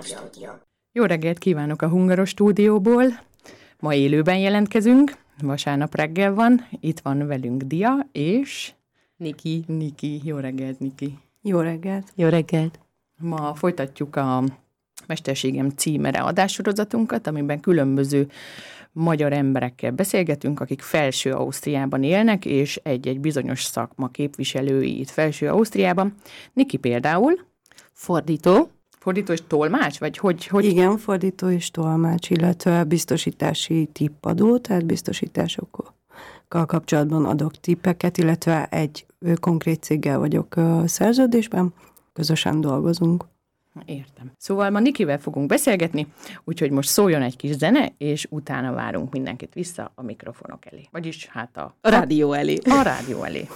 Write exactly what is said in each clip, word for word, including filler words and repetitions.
most. Jó reggelt kívánok a Hungaros stúdióból. Ma élőben jelentkezünk, vasárnap reggel van, itt van velünk Dia és... Niki. Niki. Jó reggelt, Niki. Jó reggelt. Jó reggelt. Ma folytatjuk a Mesterségem címere adássorozatunkat, amiben különböző magyar emberekkel beszélgetünk, akik Felső Ausztriában élnek, és egy-egy bizonyos szakma képviselői itt Felső Ausztriában. Niki például. Fordító. Fordító és tolmács? Vagy hogy, hogy... Igen, fordító és tolmács, illetve biztosítási tippadó, tehát biztosításokkal kapcsolatban adok tippeket, illetve egy konkrét céggel vagyok szerződésben, közösen dolgozunk. Értem. Szóval ma Nikivel fogunk beszélgetni, úgyhogy most szóljon egy kis zene, és utána várunk mindenkit vissza a mikrofonok elé. Vagyis hát a... A rádió elé. A rádió elé.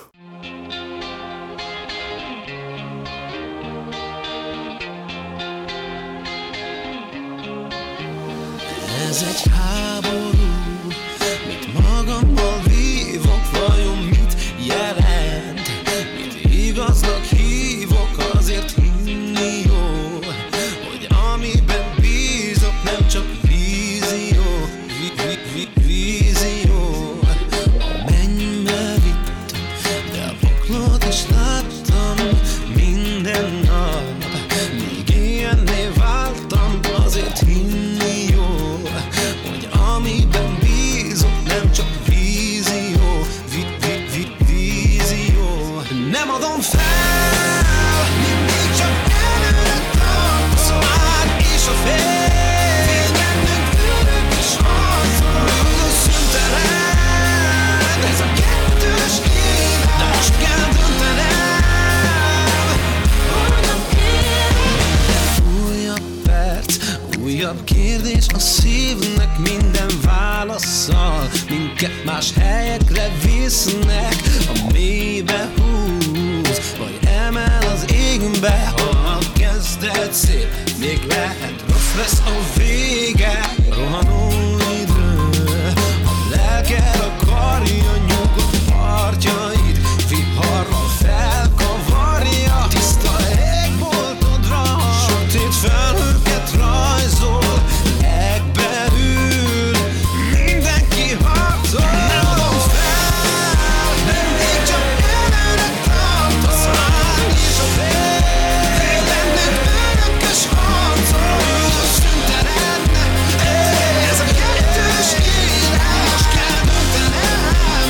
Ez egy háború, mit magammal vívok, vajon mit jelent? Mit igaznak hívok, azért hinni jó, hogy amiben bízok nem csak vízió, vi, vi, vi, vízió. A mennybe vittem, de a poklot is láttam minden nap, míg ilyenné váltam, azért hinni jó, hogy amiben bízok nem csak vízió, vi, vi, vi, vízió. Nem adom fel, mindig csak előre tart a szár és a fél. Védennünk fülök és harcol, a szüntelen. Ez a kettős élet, de most kell döntenem, hogyan élek. Újabb perc, újabb kérdés a szívnek minden válasszal. Minket más helyekre visznek, a mélybe húz, vagy emel az égbe. Ha a kezdet szép, még lehet rossz lesz a vége. Rohanó idő, a lelked akarja nyugodt partjait, viharral felkavarja. Tiszta égboltodra, sötét felhőket rajzol, legbelül mindenki harcol. Nem adom fel, mindig csak előre tart a szár és a fél. Védennünk örökös harcol, a szüntelen. Ez a kettős élet, most kell döntenem,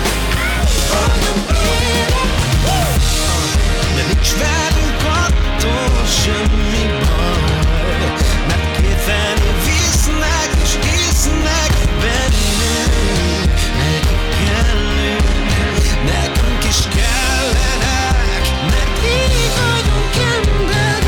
hogyan élek. De nincs velünk attól semmi baj, mert kétfelé visznek és isznek bennünk. Nekik kellünk, nekünk is kellenek, mert így vagyunk emberek.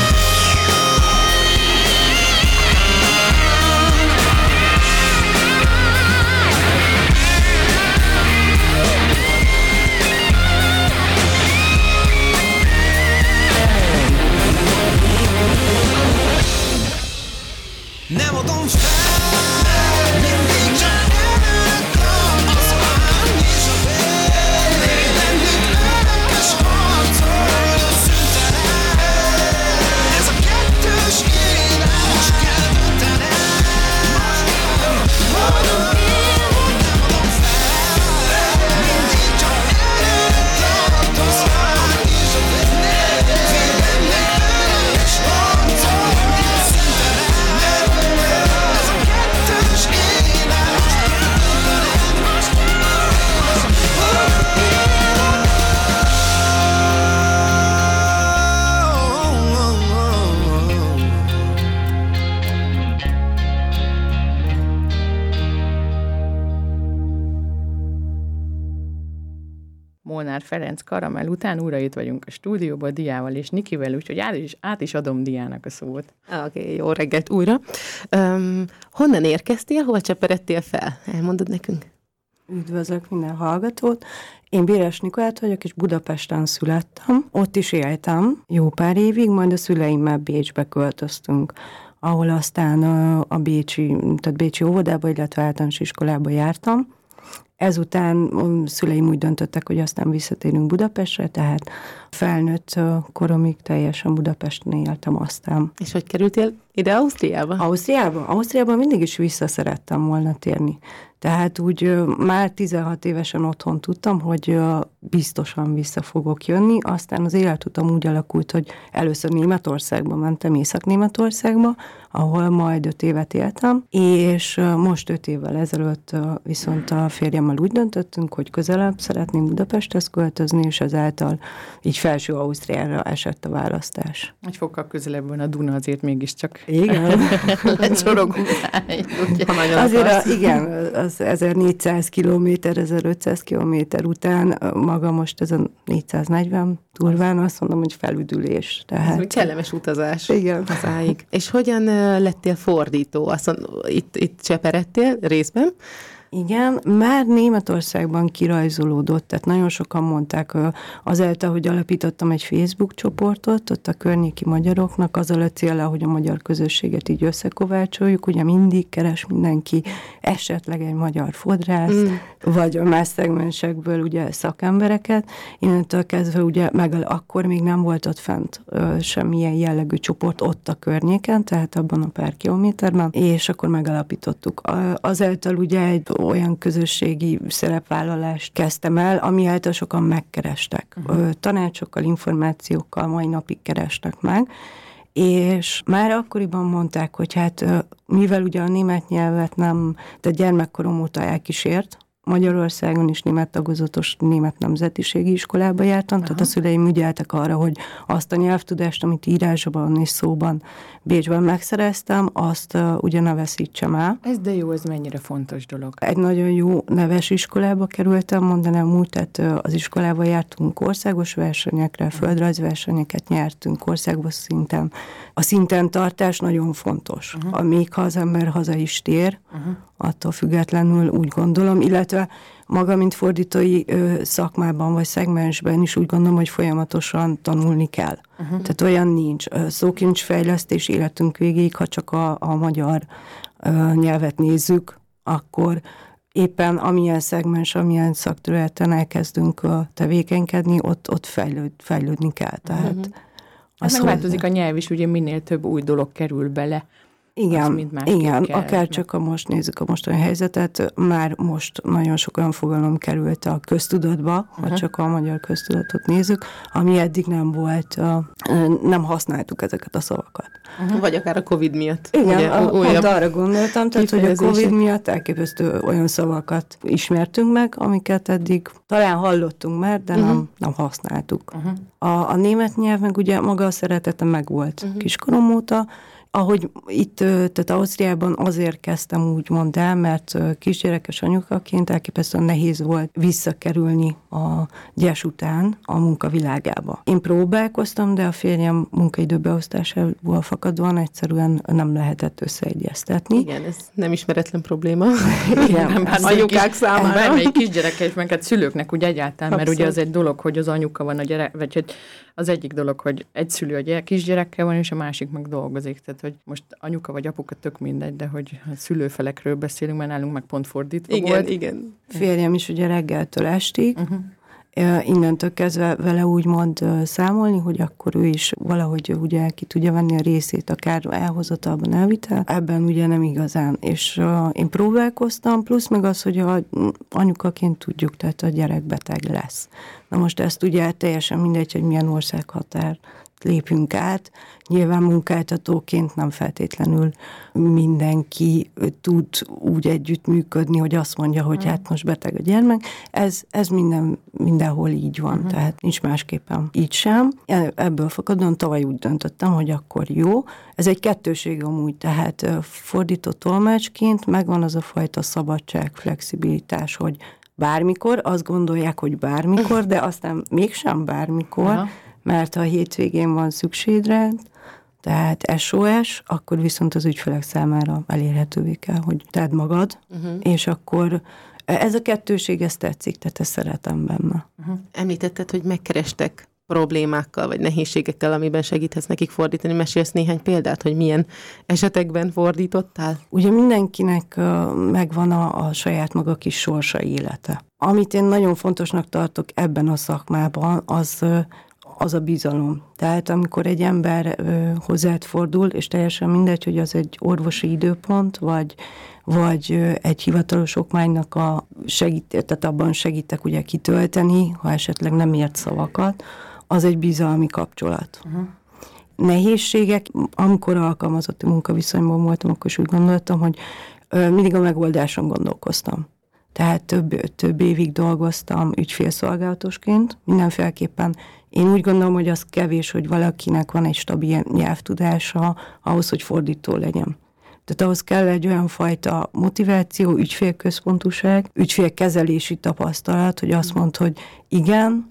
Nem adom fel, mindig csak előre tart a szár és a fél. Védennünk örökös harcol, a szüntelen. Ez a kettős élet, most kell döntenem, hogyan élek. Nem adom fel, mindig csak előre tart a szár és a fél. Védennünk örökös harcol, a szüntelen. Ez a kettős élet, most kell döntenem, most kell Molnár Ferenc Karamell után újra itt vagyunk a stúdióban Diával és Nikivel, úgyhogy át is, át is adom Diának a szót. Oké, okay, jó reggelt újra. Um, honnan érkeztél, hol cseperedtél fel? Elmondod nekünk? Üdvözlök minden hallgatót. Én Béres Nikolát vagyok, és Budapesten születtem. Ott is éltem jó pár évig, majd a szüleimmel Bécsbe költöztünk, ahol aztán a, a Bécsi, tehát Bécsi óvodába, illetve általános iskolába jártam, Ezután a szüleim úgy döntöttek, hogy aztán visszatérünk Budapestre, tehát felnőtt koromig teljesen Budapesten éltem aztán. És hogy kerültél ide Ausztriába? Ausztriába? Ausztriában mindig is vissza szerettem volna térni. Tehát úgy ö, már tizenhat évesen otthon tudtam, hogy ö, biztosan vissza fogok jönni, aztán az életutam úgy alakult, hogy először Németországba mentem, Észak-Németországba, ahol majd öt évet éltem, és ö, most öt évvel ezelőtt ö, viszont a férjemmel úgy döntöttünk, hogy közelebb szeretném Budapesthez költözni, és ezáltal így felső Ausztriára esett a választás. Egy fokkal közelebb van a Duna, azért mégiscsak Igen. lecsorogunk rá, ugye? Ha nagyon Azért akarsz. a, igen, az ezernégyszáz kilométer, ezerötszáz kilométer után maga most ez a négyszáznegyven durván azt mondom, hogy felüdülés. Ez Tehát, úgy kellemes utazás. igen. Hazáig. És hogyan ö, lettél fordító? Azt mondom, itt, itt cseperedtél részben? Igen, már Németországban kirajzolódott, tehát nagyon sokan mondták, azáltal, hogy alapítottam egy Facebook csoportot, ott a környéki magyaroknak, azzal a céllal, hogy a magyar közösséget így összekovácsoljuk, ugye mindig keres mindenki esetleg egy magyar fodrász, mm. vagy a más szegmensekből ugye szakembereket. Innentől kezdve ugye meg akkor még nem volt ott fent ö, semmilyen jellegű csoport ott a környéken, tehát abban a pár kilométerben, és akkor megalapítottuk. Azáltal ugye egy olyan közösségi szerepvállalást kezdtem el, ami által sokan megkerestek. Uh-huh. Tanácsokkal, információkkal mai napig keresnek meg, és már akkoriban mondták, hogy hát mivel ugye a német nyelvet nem, de gyermekkorom óta elkísért, Magyarországon is német tagozatos német nemzetiségi iskolába jártam, aha, tehát a szüleim ügyeltek arra, hogy azt a nyelvtudást, amit írásban és szóban Bécsben megszereztem, azt uh, ugye ne veszítsem el. Ez de jó, ez mennyire fontos dolog. Egy nagyon jó neves iskolába kerültem, mondanám úgy, tehát uh, az iskolába jártunk országos versenyekre, földrajzversenyeket nyertünk országos szinten. A szinten tartás nagyon fontos, uh-huh. még ha az ember haza is tér, uh-huh. attól függetlenül úgy gondolom, illetve maga, mint fordítói ö, szakmában vagy szegmensben is úgy gondolom, hogy folyamatosan tanulni kell. Uh-huh. Tehát olyan nincs. Szókincsfejlesztés életünk végéig, ha csak a, a magyar ö, nyelvet nézzük, akkor éppen amilyen szegmens, amilyen szakterületen elkezdünk ö, tevékenykedni, ott, ott fejlőd, fejlődni kell. Tehát uh-huh. Az megváltozik a nyelv is, ugye minél több új dolog kerül bele. Igen, igen, akár csak a most nézzük a mostani helyzetet, már most nagyon sok olyan fogalom került a köztudatba, uh-huh. ha csak a magyar köztudatot nézzük, ami eddig nem volt, nem használtuk ezeket a szavakat. Uh-huh. Vagy akár a Covid miatt. Igen, ugye, a, pont arra gondoltam, tehát, hogy a Covid miatt elképesztő olyan szavakat ismertünk meg, amiket eddig talán hallottunk már, de uh-huh. nem, nem használtuk. Uh-huh. A, a német nyelv meg ugye maga a szeretete megvolt uh-huh. kiskorom óta. Ahogy itt, tehát Ausztriában azért kezdtem úgymond el, mert kisgyerekes anyukaként elképesztően nehéz volt visszakerülni a gyes után a munkavilágába. Én próbálkoztam, de a férjem munkaidőbeosztásából fakadóan egyszerűen nem lehetett összeegyeztetni. Igen, ez nem ismeretlen probléma. Igen, nem bár anyukák számára. Bármelyik kisgyereke is, meg hát szülőknek úgy egyáltalán, mert abszolút. ugye az egy dolog, hogy az anyuka van a gyerek, vagy hogy az egyik dolog, hogy egy szülő a gyerek, kisgyerekkel van, és a másik meg dolgozik. Tehát, hogy most anyuka vagy apuka tök mindegy, de hogy a szülőfelekről beszélünk, mert nálunk meg pont fordítva igen, volt. Igen, Férjem is ugye reggeltől estig, uh-huh. innentől kezdve vele úgymond számolni, hogy akkor ő is valahogy ugye ki tudja venni a részét, akár elhozatalban, elvitel. Ebben ugye nem igazán. És uh, én próbálkoztam, plusz meg az, hogy a anyukaként tudjuk, tehát a gyerek beteg lesz. Na most ezt ugye teljesen mindegy, hogy milyen országhatár lépünk át. Nyilván munkáltatóként nem feltétlenül mindenki tud úgy együttműködni, hogy azt mondja, hogy uh-huh. hát most beteg a gyermek. Ez, ez minden, mindenhol így van, uh-huh. tehát nincs másképpen így sem. Ebből fakadóan tavaly úgy döntöttem, hogy akkor jó. Ez egy kettőség amúgy, tehát fordító tolmácsként megvan az a fajta szabadság, flexibilitás, hogy bármikor, azt gondolják, hogy bármikor, de aztán mégsem bármikor, uh-huh. mert ha a hétvégén van szükségre, tehát es o es, akkor viszont az ügyfelek számára elérhetővé kell, hogy tedd magad, uh-huh. és akkor ez a kettőség, ez tetszik, tehát ezt szeretem benne. Uh-huh. Említetted, hogy megkerestek problémákkal, vagy nehézségekkel, amiben segíthetsz nekik fordítani. Mesélsz néhány példát, hogy milyen esetekben fordítottál? Ugye mindenkinek uh, megvan a, a saját maga kis sorsa élete. Amit én nagyon fontosnak tartok ebben a szakmában, az, uh, az a bizalom. Tehát amikor egy ember uh, hozzád fordul, és teljesen mindegy, hogy az egy orvosi időpont, vagy, vagy uh, egy hivatalos okmánynak a segít, tehát abban segítek ugye kitölteni, ha esetleg nem ért szavakat, az egy bizalmi kapcsolat. Uh-huh. Nehézségek, amikor alkalmazotti munkaviszonyban voltam, akkor is úgy gondoltam, hogy ö, mindig a megoldáson gondolkoztam. Tehát több, több évig dolgoztam ügyfélszolgálatosként, mindenféleképpen én úgy gondolom, hogy az kevés, hogy valakinek van egy stabil nyelvtudása ahhoz, hogy fordító legyen. Tehát ahhoz kell egy olyan fajta motiváció, ügyfélközpontúság, ügyfélkezelési tapasztalat, hogy azt mondd, hogy igen,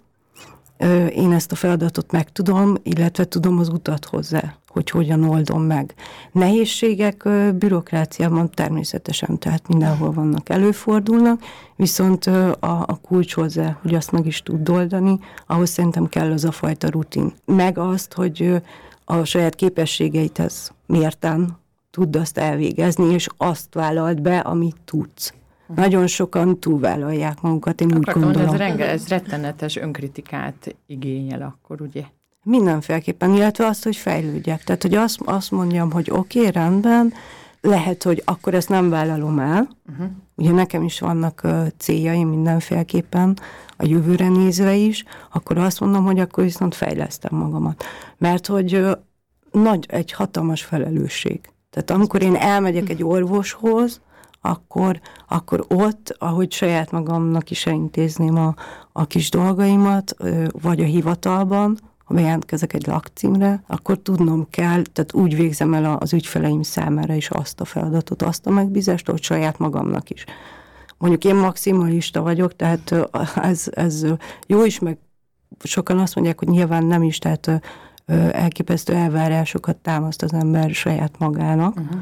én ezt a feladatot megtudom, illetve tudom az utat hozzá, hogy hogyan oldom meg. Nehézségek bürokráciában természetesen, tehát mindenhol vannak, előfordulnak, viszont a, a kulcs hozzá, hogy azt meg is tud oldani, ahhoz szerintem kell az a fajta rutin. Meg azt, hogy a saját képességeidhez mérten tudd azt elvégezni, és azt vállald be, amit tudsz. Nagyon sokan túlvállalják magukat, én Akartam, úgy gondolom. Ez, renge, ez rettenetes önkritikát igényel akkor, ugye? Mindenféleképpen, illetve azt, hogy fejlődjek. Tehát, hogy azt, azt mondjam, hogy oké, okay, rendben, lehet, hogy akkor ezt nem vállalom el. Uh-huh. Ugye nekem is vannak uh, céljaim mindenféleképpen, a jövőre nézve is, akkor azt mondom, hogy akkor viszont fejlesztem magamat. Mert hogy uh, nagy, egy hatalmas felelősség. Tehát amikor én elmegyek egy orvoshoz, Akkor, akkor ott, ahogy saját magamnak is elintézném a, a kis dolgaimat, vagy a hivatalban, ha bejelentkezek egy lakcímre, akkor tudnom kell, tehát úgy végzem el az ügyfeleim számára is azt a feladatot, azt a megbízást, hogy saját magamnak is. Mondjuk én maximalista vagyok, tehát ez, ez jó is, meg sokan azt mondják, hogy nyilván nem is, tehát elképesztő elvárásokat támaszt az ember saját magának, uh-huh.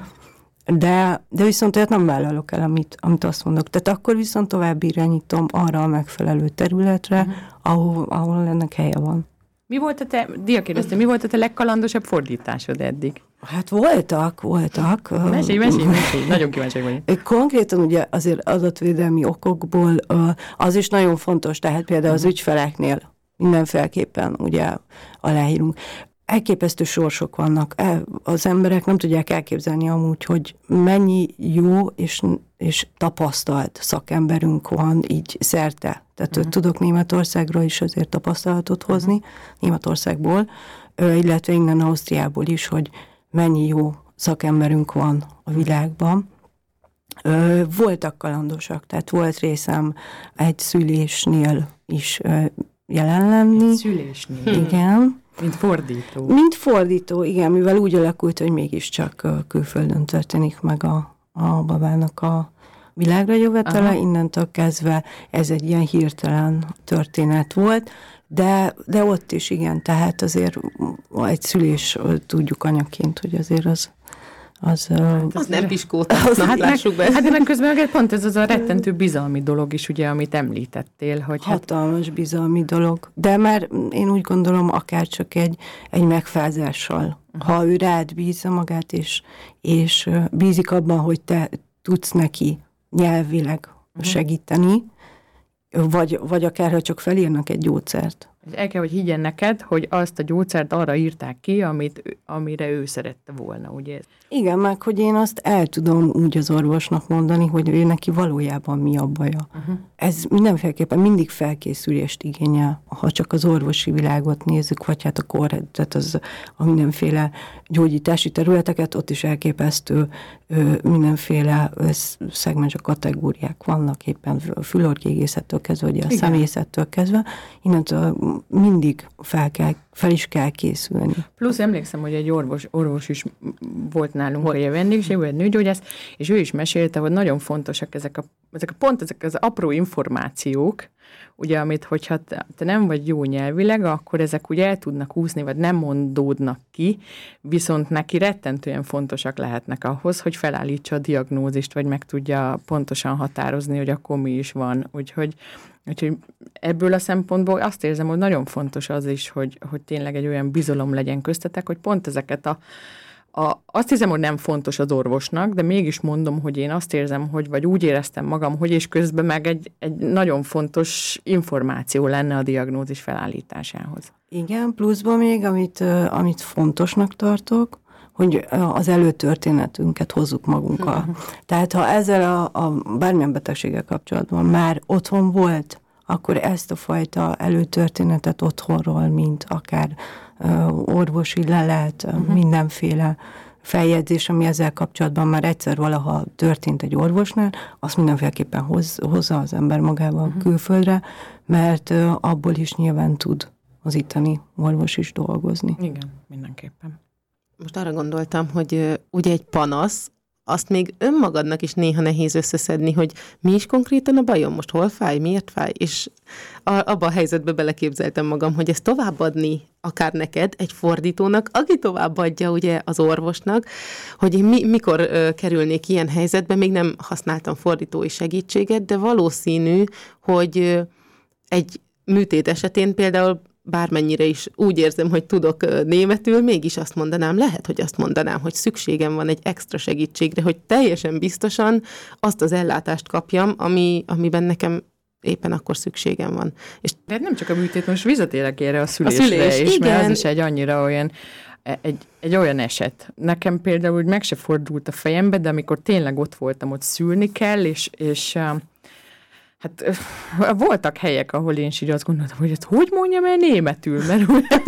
De, de viszont olyat nem vállalok el, amit, amit azt mondok. Tehát akkor viszont tovább irányítom arra a megfelelő területre, uh-huh. ahol, ahol ennek helye van. Mi volt a te, Dia kérdezte, mi volt a te legkalandosabb fordításod eddig? Hát voltak, voltak. Mesélj, mesélj, mesélj, nagyon kíváncsi vagyok. Konkrétan ugye azért adatvédelmi okokból az is nagyon fontos, tehát például az ügyfeleknél mindenféleképpen ugye aláírunk. Elképesztő sorsok vannak. Az emberek nem tudják elképzelni amúgy, hogy mennyi jó és, és tapasztalt szakemberünk van így szerte. Tehát uh-huh. tudok Németországról is azért tapasztalatot hozni, uh-huh. Németországból, illetve innen Ausztriából is, hogy mennyi jó szakemberünk van a világban. Voltak kalandosak, tehát volt részem egy szülésnél is jelen lenni. Egy szülésnél? Igen. Mint fordító. Mint fordító, igen, mivel úgy alakult, hogy mégiscsak külföldön történik meg a, a babának a világra jövetele, aha. Innentől kezdve ez egy ilyen hirtelen történet volt, de, de ott is igen, tehát azért egy szülés tudjuk anyaként, hogy azért az Az, az, az nem piskóta, az, hát, lássuk be. Hát de meg közben pont ez az a rettentő bizalmi dolog is, ugye, amit említettél. Hogy hatalmas hát... bizalmi dolog. De már én úgy gondolom, akár csak egy, egy megfázással. Uh-huh. Ha ő rád bízza magát, és, és bízik abban, hogy te tudsz neki nyelvileg uh-huh. segíteni, vagy, vagy akár, ha csak felírnak egy gyógyszert. El kell, hogy higgyen neked, hogy azt a gyógyszert arra írták ki, amit, amire ő szerette volna, ugye? Igen, meg hogy én azt el tudom úgy az orvosnak mondani, hogy ő neki valójában mi a baja. Uh-huh. Ez mindenféleképpen mindig felkészülést igényel, ha csak az orvosi világot nézzük, vagy hát a kor, tehát az a mindenféle gyógyítási területeket, ott is elképesztő mindenféle szegmens, a kategóriák vannak éppen fülorgégészettől kezdve, vagy a igen. szemészettől kezdve, innentől mindig fel, kell, fel is kell készülni. Plusz emlékszem, hogy egy orvos, orvos is volt nálunk, hogy a vendégség, vagy nőgyógyász, és ő is mesélte, hogy nagyon fontosak ezek a, ezek a pont ezek az apró információk, ugye, amit, hogyha te, te nem vagy jó nyelvileg, akkor ezek ugye el tudnak úszni, vagy nem mondódnak ki, viszont neki rettentően fontosak lehetnek ahhoz, hogy felállítsa a diagnózist, vagy meg tudja pontosan határozni, hogy akkor mi is van. Úgyhogy, úgyhogy ebből a szempontból azt érzem, hogy nagyon fontos az is, hogy, hogy tényleg egy olyan bizalom legyen köztetek, hogy pont ezeket a A, azt hiszem, hogy nem fontos az orvosnak, de mégis mondom, hogy én azt érzem, hogy vagy úgy éreztem magam, hogy és közben meg egy, egy nagyon fontos információ lenne a diagnózis felállításához. Igen, pluszban még, amit, amit fontosnak tartok, hogy az előtörténetünket hozzuk magunkkal. Uh-huh. Tehát ha ezzel a, a bármilyen betegséggel kapcsolatban már otthon volt, akkor ezt a fajta előtörténetet otthonról, mint akár uh, orvosi lelet, uh-huh. mindenféle feljegyzés, ami ezzel kapcsolatban már egyszer valaha történt egy orvosnál, azt mindenféleképpen hoz, hozza az ember magával uh-huh. külföldre, mert uh, abból is nyilván tud az itteni orvos is dolgozni. Igen, mindenképpen. Most arra gondoltam, hogy uh, ugye egy panasz, azt még önmagadnak is néha nehéz összeszedni, hogy mi is konkrétan a bajom, most hol fáj, miért fáj, és a, abba a helyzetbe beleképzeltem magam, hogy ezt továbbadni akár neked, egy fordítónak, aki továbbadja ugye az orvosnak, hogy én mi, mikor ö, kerülnék ilyen helyzetbe, még nem használtam fordítói segítséget, de valószínű, hogy ö, egy műtét esetén például bármennyire is úgy érzem, hogy tudok németül, mégis azt mondanám, lehet, hogy azt mondanám, hogy szükségem van egy extra segítségre, hogy teljesen biztosan azt az ellátást kapjam, ami, amiben nekem éppen akkor szükségem van. És de nem csak a műtét, most visszatérek erre a szülésre a szülés, is, igen. Mert ez is egy annyira olyan, egy, egy olyan eset. Nekem például úgy meg se fordult a fejembe, de amikor tényleg ott voltam, ott szülni kell, és, és hát voltak helyek, ahol én is így azt gondoltam, hogy ezt hogy mondjam el németül, mert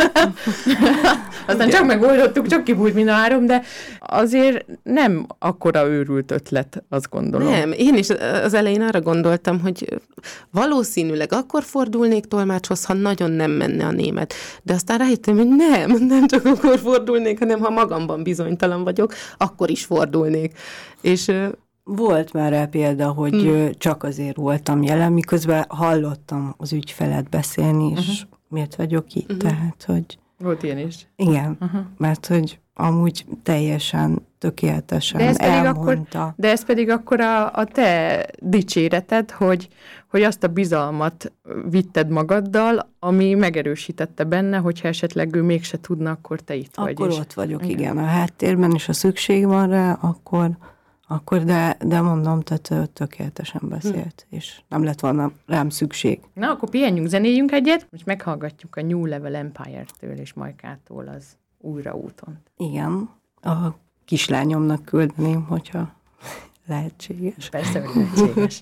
aztán csak megoldottuk, csak kibújt mind a három, de azért nem akkora őrült ötlet, azt gondolom. Nem, én is az elején arra gondoltam, hogy valószínűleg akkor fordulnék tolmácshoz, ha nagyon nem menne a német. De aztán rájöttem, hogy nem, nem csak akkor fordulnék, hanem ha magamban bizonytalan vagyok, akkor is fordulnék. És volt már rá példa, hogy hmm. csak azért voltam jelen, miközben hallottam az ügyfelet beszélni, és uh-huh. miért vagyok itt, uh-huh. tehát, hogy... Volt ilyen is? Igen, uh-huh. mert hogy amúgy teljesen tökéletesen de ez elmondta. Akkor, de ez pedig akkor a, a te dicséreted, hogy, hogy azt a bizalmat vitted magaddal, ami megerősítette benne, hogyha esetleg ő mégse tudna, akkor te itt akkor vagy. Akkor ott vagyok, igen. igen. A háttérben, és a szükség van rá, akkor... Akkor de, de mondom, tehát tökéletesen beszélt, hm. és nem lett volna rám szükség. Na, akkor pihenjünk, zenéljünk egyet, most meghallgatjuk a New Level Empire-től és Majkától az Újra úton. Igen, a kislányomnak küldeném, hogyha lehetséges. Persze, hogy lehetséges.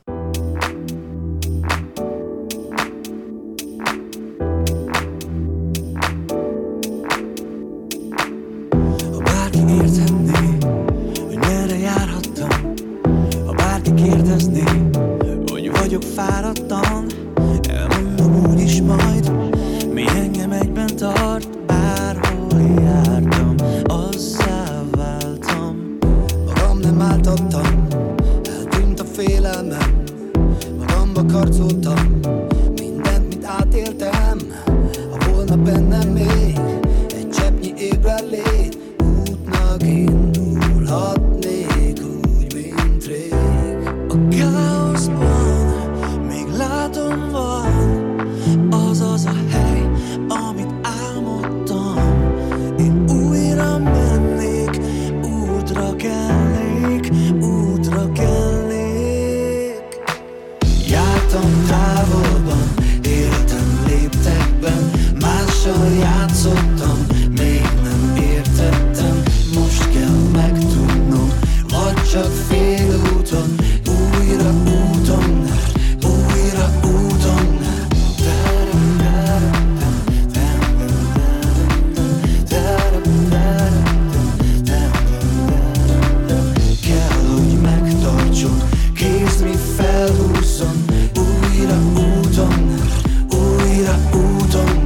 Ha bárki érthetné, hogy merre járhattam, ha bárki kérdezné, hogy vagyok fáradtan, elmondom úgyis majd, mi engem egyben tart, bárhol jártam, azzá váltam. Magam nem áltattam, eltűnt a félelmem, magamba karcoltam, mindent, mit átéltem. Ha volna bennem még egy cseppnyi ébrenlét, útnak indulhatnék úgy, mint rég. A káoszban még látom van az az a hely, amit álmodtam. Én újra mennék, útra kelnék, útra kelnék. Jártam távolban, éltem léptekben, mással játszottam, még nem értettem. Most kell megtudnom, vagy csak félúton, újra úton, újra úton. Kell, hogy megtartson, kézni felhúzzon, újra úton, újra úton.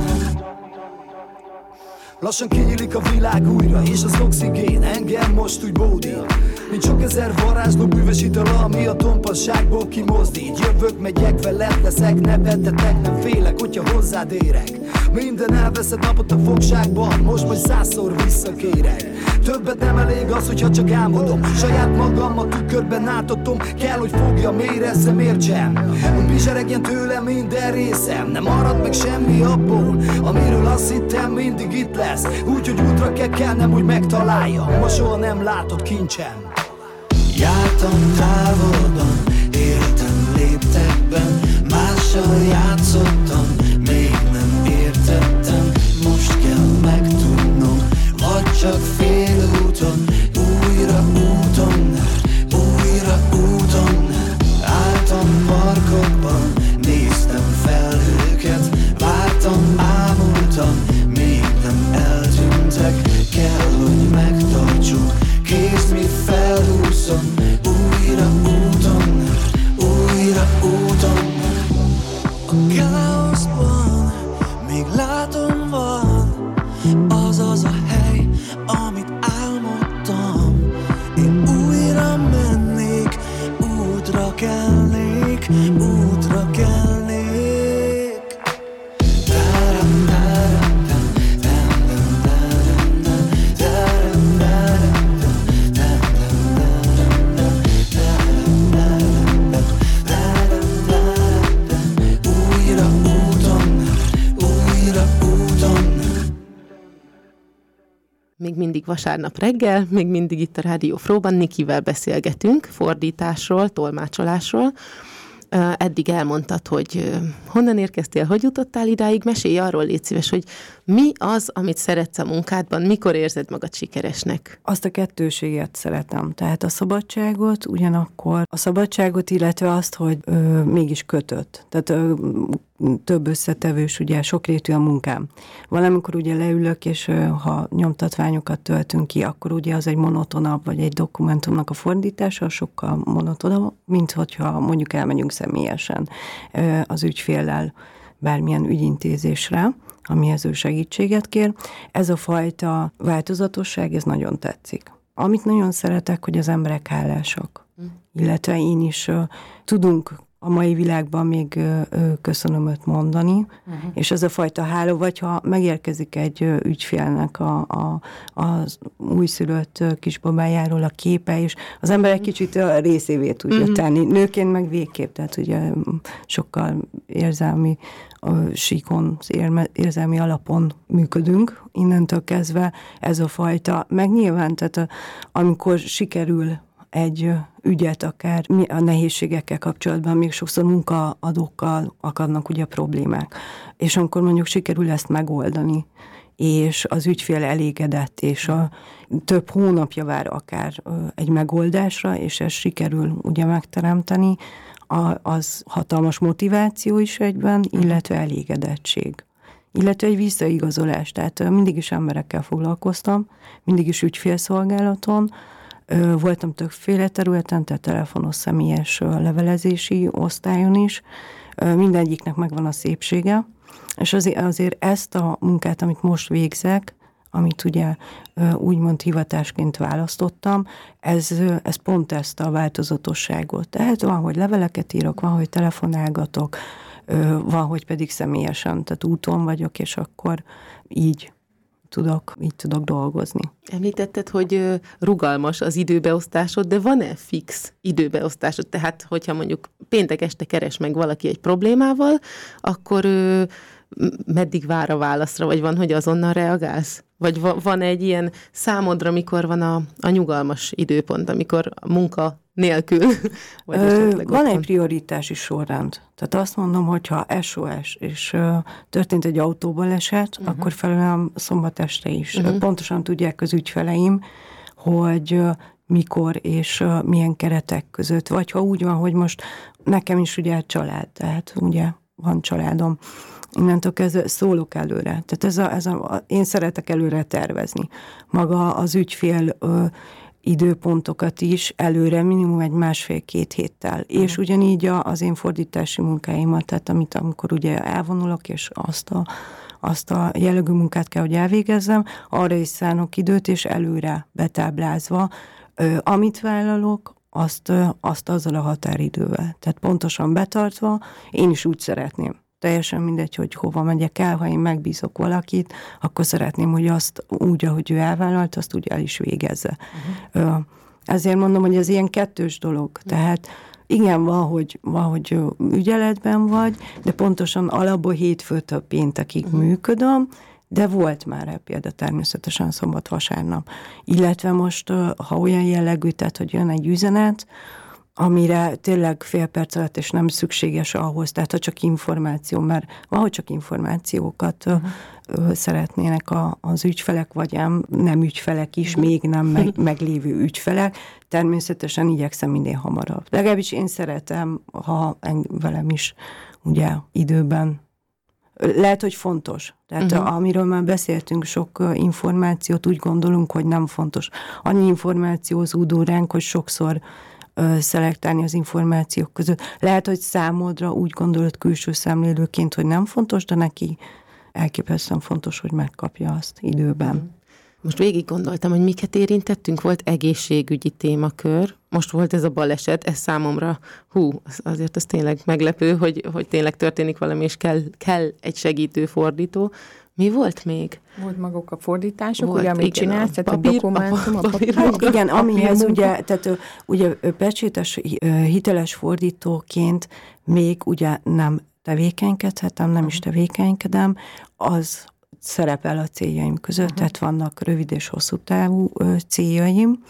Lassan kinyílik a világ újra, és az oxigén engem most úgy bódít. Mint sok ezer varázsló bűvös itala, ami a tompasságból kimozdít. Jövök, megyek, veled leszek, nevetetek, nem félek, hogyha hozzád érek. Minden elveszed napot a fogságban, most majd százszor visszakérek. Többet nem elég az, hogyha csak álmodom, saját magam a tükörben átadom. Kell, hogy fogjam, érezzem, értsem, hogy bizseregjen tőlem minden részem. Nem marad meg semmi abból, amiről azt hittem mindig itt lesz. Úgyhogy útra kell kelnem, hogy megtaláljam, ma soha nem látott kincsem. Jártam távolban, éltem léptekben, mással játszottam, még nem értettem. Most kell megtudnom, vagy csak félúton, újra úton, újra úton. Álltam parkokban, néztem felhőket, vártam, ámultam, még nem eltűntek. Kell, hogy megtartsuk, kézd, mi felhúzom, újra úton, újra úton. A káoszban még látom van az az a hely, amit álmodtam. Én újra mennék, útra kelnék, útra kelnék. Még mindig vasárnap reggel, még mindig itt a Rádió Fróban Nikivel beszélgetünk fordításról, tolmácsolásról. Eddig elmondtad, hogy honnan érkeztél, hogy jutottál idáig, mesélj arról, légy szíves, hogy mi az, amit szeretsz a munkádban, mikor érzed magad sikeresnek? Azt a kettőséget szeretem, tehát a szabadságot, ugyanakkor a szabadságot, illetve azt, hogy ö, mégis kötött. Tehát ö, több összetevős, ugye sokrétű a munkám. Valamikor ugye leülök, és ö, ha nyomtatványokat töltünk ki, akkor ugye az egy monotonabb, vagy egy dokumentumnak a fordítása sokkal monotonabb, mint hogyha mondjuk elmegyünk személyesen ö, az ügyféllel bármilyen ügyintézésre, amihez ő segítséget kér. Ez a fajta változatosság, ez nagyon tetszik. Amit nagyon szeretek, hogy az emberek hálásak. Mm. Illetve én is uh, tudunk a mai világban még uh, köszönömöt mondani, uh-huh. és ez a fajta hála, vagy ha megérkezik egy uh, ügyfélnek a, a, az újszülött uh, kisbabájáról a képe, és az ember egy kicsit a részévé tudja uh-huh. tenni. Nőként meg végképp, tehát ugye sokkal érzelmi a síkon, érzelmi alapon működünk, innentől kezdve ez a fajta, meg nyilván, tehát a, amikor sikerül egy ügyet, akár a nehézségekkel kapcsolatban, még sokszor munkaadókkal akadnak ugye problémák, és amikor mondjuk sikerül ezt megoldani, és az ügyfél elégedett, és a több hónapja vár akár egy megoldásra, és ezt sikerül ugye megteremteni, az hatalmas motiváció is egyben, illetve elégedettség. Illetve egy visszaigazolás. Tehát mindig is emberekkel foglalkoztam, mindig is ügyfélszolgálaton, voltam többféle területen, tehát telefonos, személyes levelezési osztályon is. Mindegyiknek megvan a szépsége, és azért, azért ezt a munkát, amit most végzek, amit ugye úgymond hivatásként választottam, ez, ez pont ezt a változatosságot. Tehát van, hogy leveleket írok, van, hogy telefonálgatok, van, hogy pedig személyesen, tehát úton vagyok, és akkor így tudok, így tudok dolgozni. Említetted, hogy rugalmas az időbeosztásod, de van-e fix időbeosztásod? Tehát, hogyha mondjuk péntek este keres meg valaki egy problémával, akkor meddig vár a válaszra, vagy van, hogy azonnal reagálsz? Vagy van egy ilyen számodra, mikor van a, a nyugalmas időpont, amikor a munka nélkül? Vagy Ö, van egy prioritási sorrend. Tehát azt mondom, hogyha es o es és uh, történt egy autóbaleset, uh-huh. akkor felelem szombat este is. Uh-huh. Pontosan tudják az ügyfeleim, hogy uh, mikor és uh, milyen keretek között. Vagy ha úgy van, hogy most nekem is ugye család, tehát ugye van családom, innentől kezdve szólok előre. Tehát ez a, ez a, én szeretek előre tervezni. Maga az ügyfél ö, időpontokat is előre, minimum egy másfél-két héttel. Uh-huh. És ugyanígy a, az én fordítási munkáimat, tehát amit amikor ugye elvonulok, és azt a, azt a jellegű munkát kell, hogy elvégezzem, arra is szánok időt, és előre betáblázva amit vállalok, azt, azt azzal a határidővel. Tehát pontosan betartva, én is úgy szeretném. Teljesen mindegy, hogy hova megyek el, ha én megbízok valakit, akkor szeretném, hogy azt úgy, ahogy ő elvállalt, azt úgy el is végezze. Uh-huh. Ezért mondom, hogy ez ilyen kettős dolog. Uh-huh. Tehát igen, valahogy, valahogy ügyeletben vagy, de pontosan alapból hétfőtől péntekig uh-huh. működöm, de volt már rá példa természetesen szombat, vasárnap. Illetve most, ha olyan jellegű, tehát, hogy jön egy üzenet, amire tényleg fél perc alatt, és nem szükséges ahhoz, tehát ha csak információ, mert valahogy csak információkat uh-huh. szeretnének a, az ügyfelek, vagy ám nem ügyfelek is, uh-huh. még nem meg, meglévő ügyfelek, természetesen igyekszem minél hamarabb. Legalábbis én szeretem, ha velem is ugye időben. Lehet, hogy fontos. Tehát uh-huh. amiről már beszéltünk, sok információt úgy gondolunk, hogy nem fontos. Annyi információ zúdul ránk, hogy sokszor szelektálni az információk között. Lehet, hogy számodra úgy gondolod külső szemlélőként, hogy nem fontos, de neki elképesztően fontos, hogy megkapja azt időben. Most végig gondoltam, hogy miket érintettünk, volt egészségügyi témakör, most volt ez a baleset, ez számomra, hú, azért ez tényleg meglepő, hogy, hogy tényleg történik valami, és kell, kell egy segítő fordító. Mi volt még? Volt maguk a fordítások, volt, ugye, amit csinálsz, tehát a dokumentum, a papír, a papír, igen, amihez ugye, tehát ugye pecsétes hiteles fordítóként még ugye nem tevékenykedhetem, nem is tevékenykedem, az szerepel a céljaim között, uh-huh. tehát vannak rövid és hosszú távú céljaim,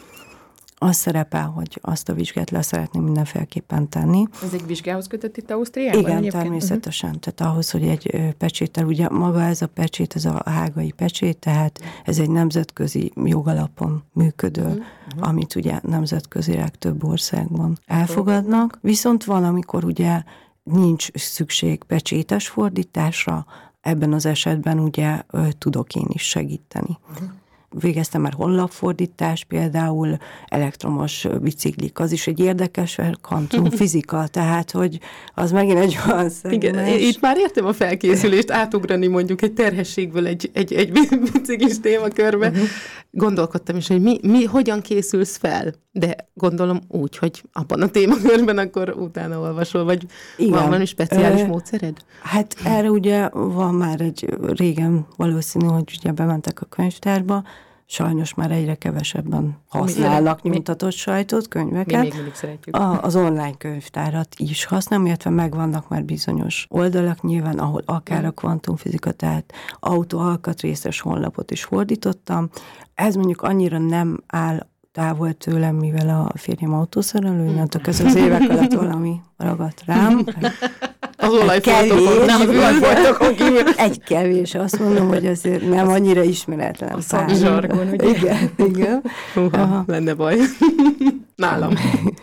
az szerepel, hogy azt a vizsgát le szeretném mindenféleképpen tenni. Ez egy vizsgához kötött itt Ausztriában? Igen, egyébként? Természetesen. Uh-huh. Tehát ahhoz, hogy egy pecséttel, ugye maga ez a pecsét, ez a hágai pecsét, tehát ez egy nemzetközi jogalapon működő, uh-huh. amit ugye nemzetközileg több országban elfogadnak. Viszont van, amikor ugye nincs szükség pecsétes fordításra, ebben az esetben ugye tudok én is segíteni. Uh-huh. Végeztem már honlapfordítás, például elektromos biciklik, az is egy érdekes, kvantumfizika, tehát, hogy az megint egy olyan szegmens. Igen, itt már értem a felkészülést, átugrani mondjuk egy terhességből egy, egy, egy biciklis témakörbe. Uh-huh. Gondolkodtam is, hogy mi, mi, hogyan készülsz fel, de gondolom úgy, hogy abban a témakörben akkor utána olvasol, vagy igen. Van valami speciális Ö, módszered? Hát erre ugye van már egy régen valószínű, hogy ugye bementek a könyvtárba, sajnos már egyre kevesebben használnak mi, nyomtatott sajtot, könyveket. Mi még mindig szeretjük. A, az online könyvtárat is használom, illetve megvannak már bizonyos oldalak nyilván, ahol akár a kvantumfizika, tehát autóalkatrészes honlapot is fordítottam. Ez mondjuk annyira nem áll távol tőlem, mivel a férjem autószerelő, innentől kezdve az évek alatt valami ragadt rám. Az olajfoltokon, nem az olajfoltokon kívül. Egy kevés, azt mondom, hogy azért nem annyira ismeretlen. A szakzsargon, ugye? Igen, igen. Húha, lenne baj. Nálam.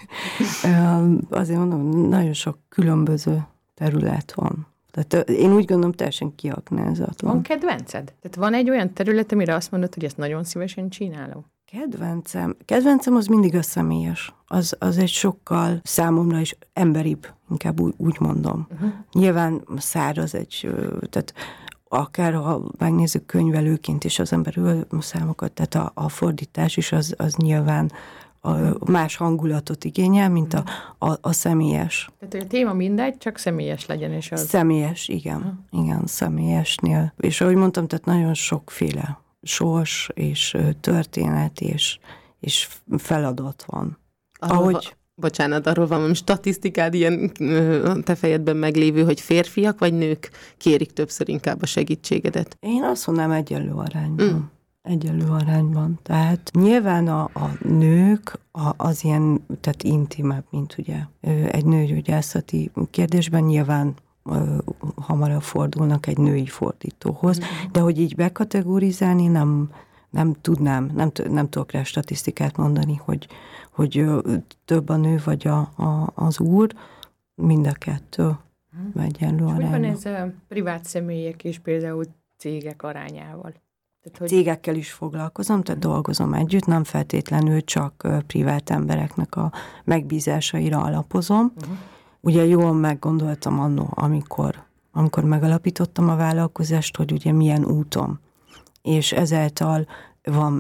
Azért mondom, nagyon sok különböző terület van. Tehát én úgy gondolom, teljesen kiaknázatlan. Van kedvenced? Tehát van egy olyan terület, amire azt mondod, hogy ezt nagyon szívesen csinálom? Kedvencem? Kedvencem az mindig a személyes. Az, az egy sokkal számomra is emberibb, inkább úgy, úgy mondom. Uh-huh. Nyilván száraz egy, tehát akár ha megnézzük könyvelőként is az ember ül számokat, tehát a, a fordítás is az, az nyilván a más hangulatot igényel, mint a, a, a személyes. Tehát, hogy a téma mindegy, csak személyes legyen, és az... Személyes, igen. Uh-huh. Igen, személyesnél. És ahogy mondtam, tehát nagyon sokféle sors és történet és, és feladat van. Arról Ahogy... Va, bocsánat, arról van valami statisztikád ilyen te fejedben meglévő, hogy férfiak vagy nők kérik többször inkább a segítségedet? Én azt mondom, egyenlő arányban. Mm. Egyenlő arányban. Tehát nyilván a, a nők a, az ilyen, tehát intimebb, mint ugye egy nőgyógyászati kérdésben nyilván hamarabb fordulnak egy női fordítóhoz, de hogy így bekategorizálni nem, nem tudnám, nem, nem tudok rá statisztikát mondani, hogy, hogy több a nő vagy a, a, az úr, mind a kettő egyenlő arányban. Hogy van ez a privát személyek és például cégek arányával? Tehát, hogy... Cégekkel is foglalkozom, tehát dolgozom együtt, nem feltétlenül csak privát embereknek a megbízásaira alapozom. Uh-huh. Ugye jól meggondoltam annó, amikor, amikor megalapítottam a vállalkozást, hogy ugye milyen úton. És ezáltal van már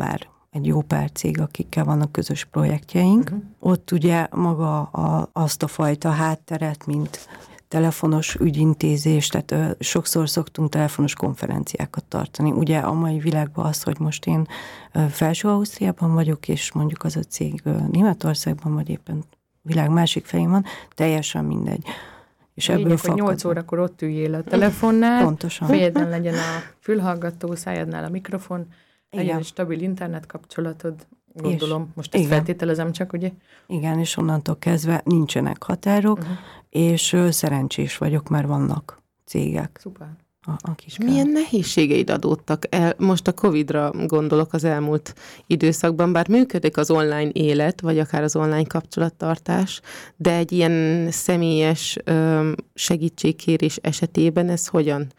egy jó pár cég, akikkel vannak közös projektjeink. Uh-huh. Ott ugye maga a, azt a fajta hátteret, mint telefonos ügyintézés, tehát ö, sokszor szoktunk telefonos konferenciákat tartani. Ugye a mai világban az, hogy most én ö, Felső-Ausztriában vagyok, és mondjuk az a cég ö, Németországban, vagy éppen világ másik fején van, teljesen mindegy. És ebből Lényeg, hogy nyolc órakor ott üljél a telefonnál, pontosan. Fejedben legyen a fülhallgató, szájadnál a mikrofon, legyen Igen. egy stabil internet kapcsolatod, gondolom, És, most ezt igen. feltételezem csak, ugye? Igen, és onnantól kezdve nincsenek határok, uh-huh. és ö, szerencsés vagyok, mert vannak cégek. Szuper. A, akik Milyen nehézségeid adódtak el? Most a Covidra gondolok az elmúlt időszakban, bár működik az online élet, vagy akár az online kapcsolattartás, de egy ilyen személyes ö, segítségkérés esetében ez hogyan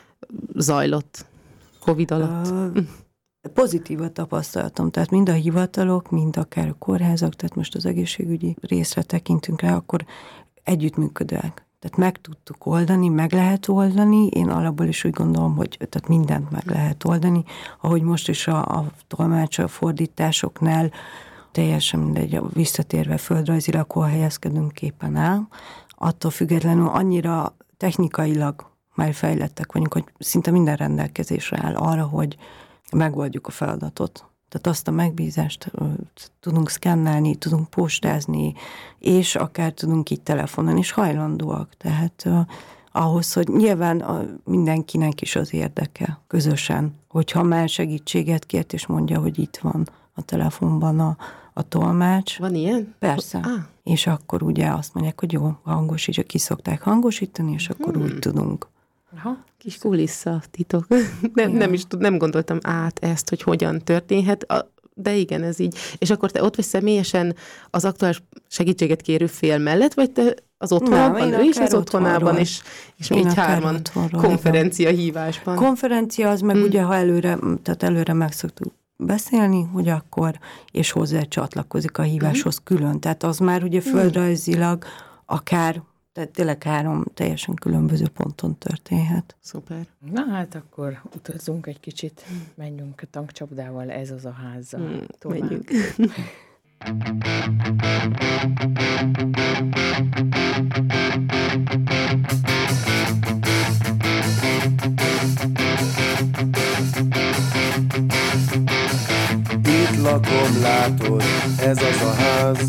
zajlott Covid alatt? Ö, pozitívat tapasztaltam, tehát mind a hivatalok, mind akár a kórházak, tehát most az egészségügyi részre tekintünk rá, akkor együttműködőek. Tehát meg tudtuk oldani, meg lehet oldani. Én alapból is úgy gondolom, hogy tehát mindent meg lehet oldani. Ahogy most is a, a tolmács, a fordításoknál teljesen mindegy, visszatérve földrajzilag, hol helyezkedünk képen el. Attól függetlenül annyira technikailag már fejlettek vagyunk, hogy szinte minden rendelkezésre áll arra, hogy megoldjuk a feladatot. Tehát azt a megbízást uh, tudunk szkennelni, tudunk postázni, és akár tudunk így telefonon is hajlandóak. Tehát uh, ahhoz, hogy nyilván uh, mindenkinek is az érdeke közösen, hogyha már segítséget kért, és mondja, hogy itt van a telefonban a, a tolmács. Van ilyen? Persze. Ah. És akkor ugye azt mondják, hogy jó, hangosítja, ki szokták hangosítani, és akkor hmm. úgy tudunk. Aha. Kis kulissza titok. Nem, nem is tud, nem gondoltam át ezt, hogy hogyan történhet, de igen, ez így. És akkor te ott vagy személyesen az aktuális segítséget kérő fél mellett, vagy te az otthonában, ő is az otthonában, és, és mi így hárman konferencia igen. hívásban. Konferencia az meg hmm. ugye, ha előre, tehát előre meg szoktuk beszélni, hogy akkor, és hozzá csatlakozik a híváshoz hmm. külön. Tehát az már ugye földrajzilag akár tehát tényleg három teljesen különböző ponton történhet. Szuper. Na hát akkor utazzunk egy kicsit, menjünk a tankcsapdával, ez az a házzal. Hmm, menjünk. Itt lakom, látod, ez az a ház.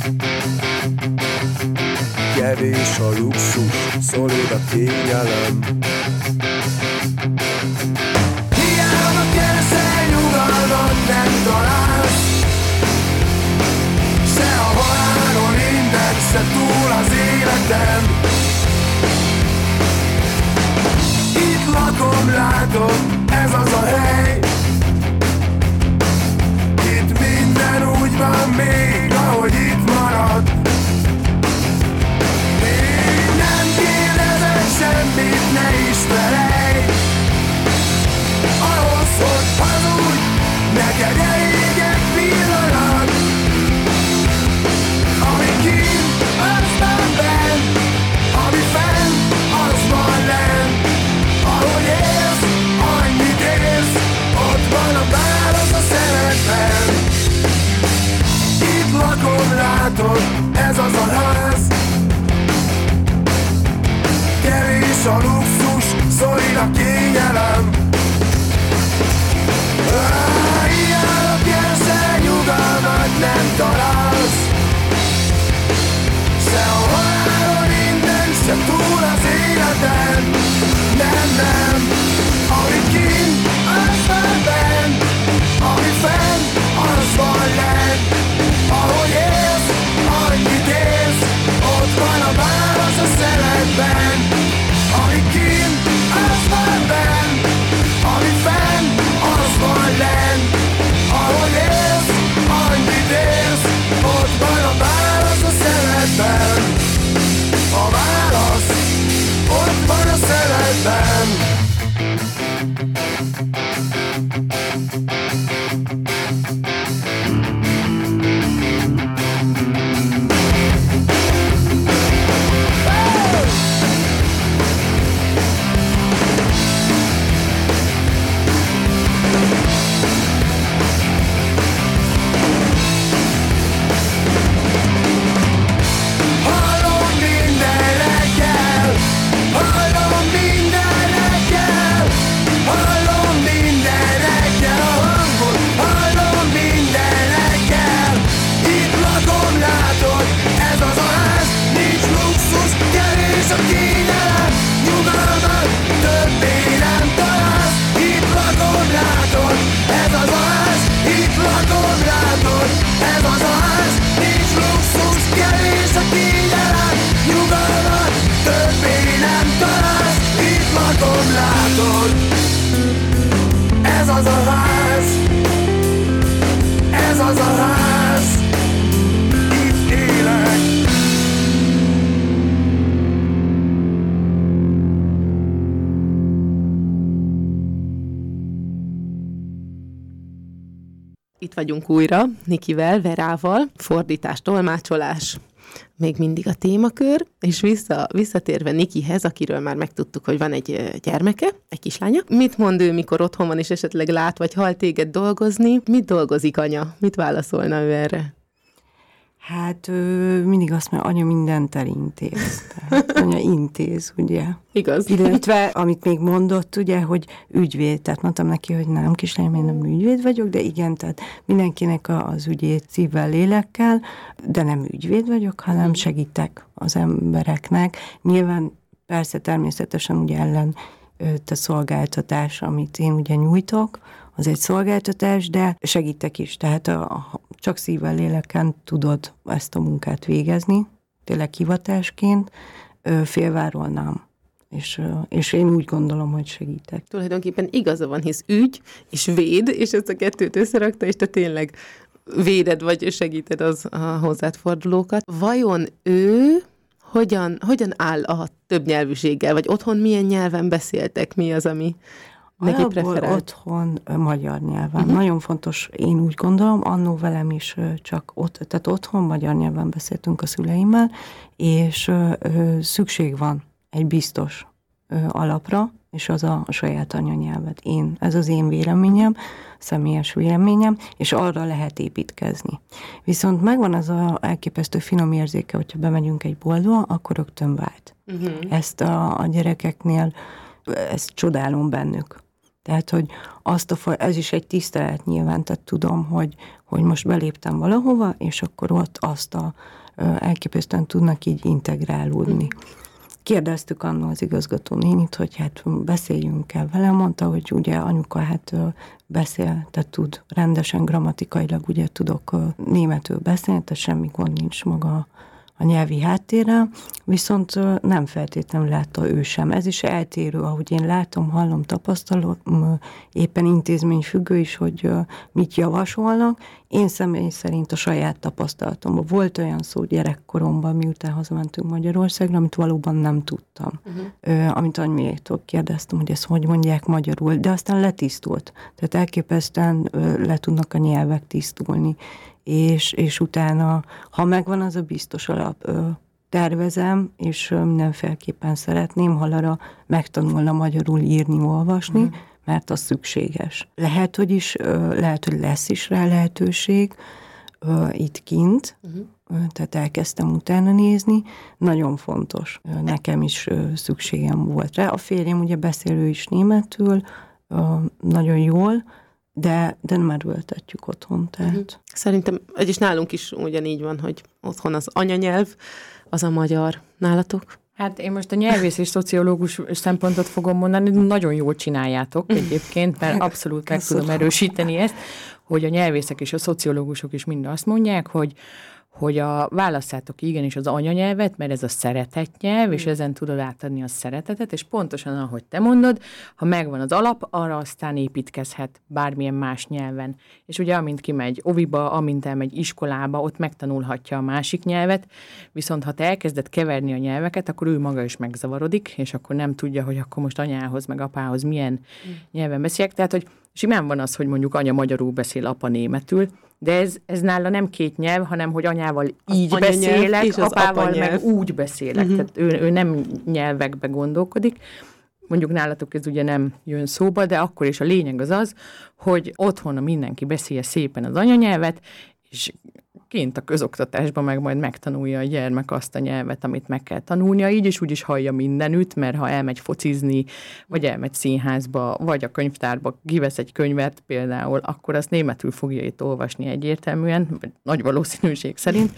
Kevés a luxus, szolid a kényelem. Hiába keresel, nyugalmat nem találsz. Se a halálon innen, se túl az életem. Itt lakom, látom, ez az a hely. Itt minden úgy van még, ahogy itt marad. Semmit ne is felejj. Ahhoz, hogy hazudj, neked elég egy pillanat. Ami kint, az van benn. Ami fenn, az van lenn. Ahogy élsz, annyit élsz. Ott van a válasz a szemedben. Itt lakom, látod, ez az a ház. Kevés a luxus, szorít a kényelem. Hiába keresel, nyugalmat nem találsz. Se a halálon innen, se túl az életen. Nem, nem, ami kint, az van benn. Ami fenn, az van lenn. Ahogy élsz, annyit élsz. Ott van a válasz a szemedben. Ami kint, az van benn. itt vagyunk újra, Nikivel, Verával, fordítás, tolmácsolás, még mindig a témakör, és vissza, visszatérve Nikihez, akiről már megtudtuk, hogy van egy gyermeke, egy kislánya. Mit mond ő, mikor otthon van, és esetleg lát, vagy hall téged dolgozni? Mit dolgozik anya? Mit válaszolna ő erre? Hát ő mindig azt mondja, anya mindent elintéz. Tehát anya intéz, ugye? Igaz. Illetve, amit még mondott, ugye, hogy ügyvéd. Tehát mondtam neki, hogy nem, kislányom, én nem ügyvéd vagyok, de igen, tehát mindenkinek az ügyét szívvel, lélekkel, de nem ügyvéd vagyok, hanem segítek az embereknek. Nyilván persze természetesen ugye ellen a szolgáltatás, amit én ugye nyújtok, az egy szolgáltatás, de segítek is. Tehát a, a, csak szívvel, léleken tudod ezt a munkát végezni, tényleg hivatásként, félváról nem. És, és én úgy gondolom, hogy segítek. Tulajdonképpen igaza van, hisz ügy és véd, és ezt a kettőt összerakta, és te tényleg véded vagy segíted az a hozzád fordulókat. Vajon ő hogyan, hogyan áll a többnyelvűséggel, vagy otthon milyen nyelven beszéltek, mi az, ami neki preferált? Otthon magyar nyelven. Uh-huh. Nagyon fontos, én úgy gondolom, annó velem is csak ott, tehát otthon magyar nyelven beszéltünk a szüleimmel, és ö, ö, szükség van egy biztos ö, alapra, és az a, a saját anyanyelvet. Én, ez az én véleményem, személyes véleményem, és arra lehet építkezni. Viszont megvan az a elképesztő finom érzéke, hogyha bemegyünk egy boltba, akkor rögtön vált. Uh-huh. Ezt a, a gyerekeknél, ezt csodálom bennük. Tehát, hogy azt a, ez is egy tisztelet nyilván, tehát tudom, hogy, hogy most beléptem valahova, és akkor ott azt a elképesztően tudnak így integrálódni. Kérdeztük annól az igazgató nénit, hogy hát beszéljünk el vele, mondta, hogy ugye anyuka hát beszél, tehát tud rendesen grammatikailag, ugye tudok németül beszélni, tehát semmi gond nincs maga a nyelvi háttérrel, viszont nem feltétlenül látta ő sem. Ez is eltérő, ahogy én látom, hallom, tapasztalom, éppen intézményfüggő is, hogy mit javasolnak. Én személy szerint a saját tapasztalatomban volt olyan szó gyerekkoromban, miután hazamentünk Magyarországra, amit valóban nem tudtam. Uh-huh. Amit anymétól kérdeztem, hogy ezt hogy mondják magyarul, de aztán letisztult. Tehát elképesztően le tudnak a nyelvek tisztulni. És, és utána, ha megvan az a biztos alap, tervezem, és mindenféleképpen szeretném, ha arra megtanulna magyarul írni, olvasni, uh-huh. mert az szükséges. Lehet, hogy is, lehet, hogy lesz is rá lehetőség itt kint, uh-huh. tehát elkezdtem utána nézni, nagyon fontos. Nekem is szükségem volt rá. A férjem ugye beszélő is németül, nagyon jól, de, de nem erőltetjük otthon, tehát. Uh-huh. Szerintem, és nálunk is ugyanígy van, hogy otthon az anyanyelv, az a magyar. Nálatok? Hát én most a nyelvész és szociológus szempontot fogom mondani, nagyon jól csináljátok egyébként, mert abszolút meg tudom erősíteni ezt, hogy a nyelvészek és a szociológusok is mind azt mondják, hogy hogy a válasszátok igenis az anyanyelvet, mert ez a szeretett nyelv, és ezen tudod átadni a szeretetet, és pontosan ahogy te mondod, ha megvan az alap, arra aztán építkezhet bármilyen más nyelven. És ugye amint kimegy oviba, amint elmegy iskolába, ott megtanulhatja a másik nyelvet, viszont ha te elkezded keverni a nyelveket, akkor ő maga is megzavarodik, és akkor nem tudja, hogy akkor most anyához, meg apához milyen mm. nyelven beszéljek. Tehát, hogy simán van az, hogy mondjuk anya magyarul beszél, apa németül, de ez, ez nála nem két nyelv, hanem hogy anyával így beszélek, apával meg úgy beszélek. Uh-huh. Tehát ő, ő nem nyelvekbe gondolkodik. Mondjuk nálatok ez ugye nem jön szóba, de akkor is a lényeg az az, hogy otthon mindenki beszélje szépen az anyanyelvet, és kint a közoktatásban meg majd megtanulja a gyermek azt a nyelvet, amit meg kell tanulnia, így is úgy is hallja mindenütt, mert ha elmegy focizni, vagy elmegy színházba, vagy a könyvtárba kivesz egy könyvet például, akkor azt németül fogja itt olvasni egyértelműen, vagy nagy valószínűség szerint,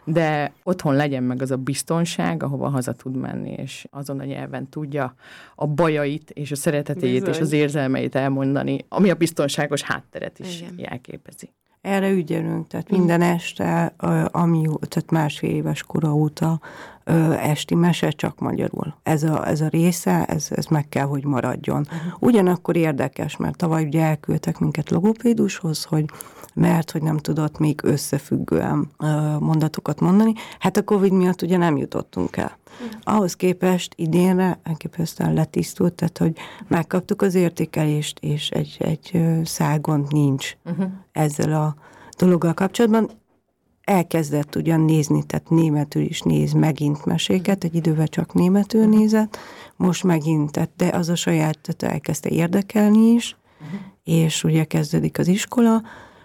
de otthon legyen meg az a biztonság, ahova haza tud menni, és azon a nyelven tudja a bajait, és a szeretetét, Bizony. és az érzelmeit elmondani, ami a biztonságos hátteret is Igen. jelképezi. Erre ügyelünk, tehát minden este, ami, tehát másfél éves kora óta esti mese csak magyarul. Ez a, ez a része, ez, ez meg kell, hogy maradjon. Ugyanakkor érdekes, mert tavaly ugye elküldtek minket logopédushoz, hogy mert hogy nem tudott még összefüggően mondatokat mondani. Hát a Covid miatt ugye nem jutottunk el. Ahhoz képest idénre elképesztően letisztult, tehát hogy megkaptuk az értékelést, és egy, egy szágont nincs uh-huh. ezzel a dologgal kapcsolatban. Elkezdett ugyan nézni, tehát németül is néz megint meséket, egy idővel csak németül nézett, most megint, tehát de az a saját, tehát elkezdte érdekelni is, uh-huh. és ugye kezdődik az iskola,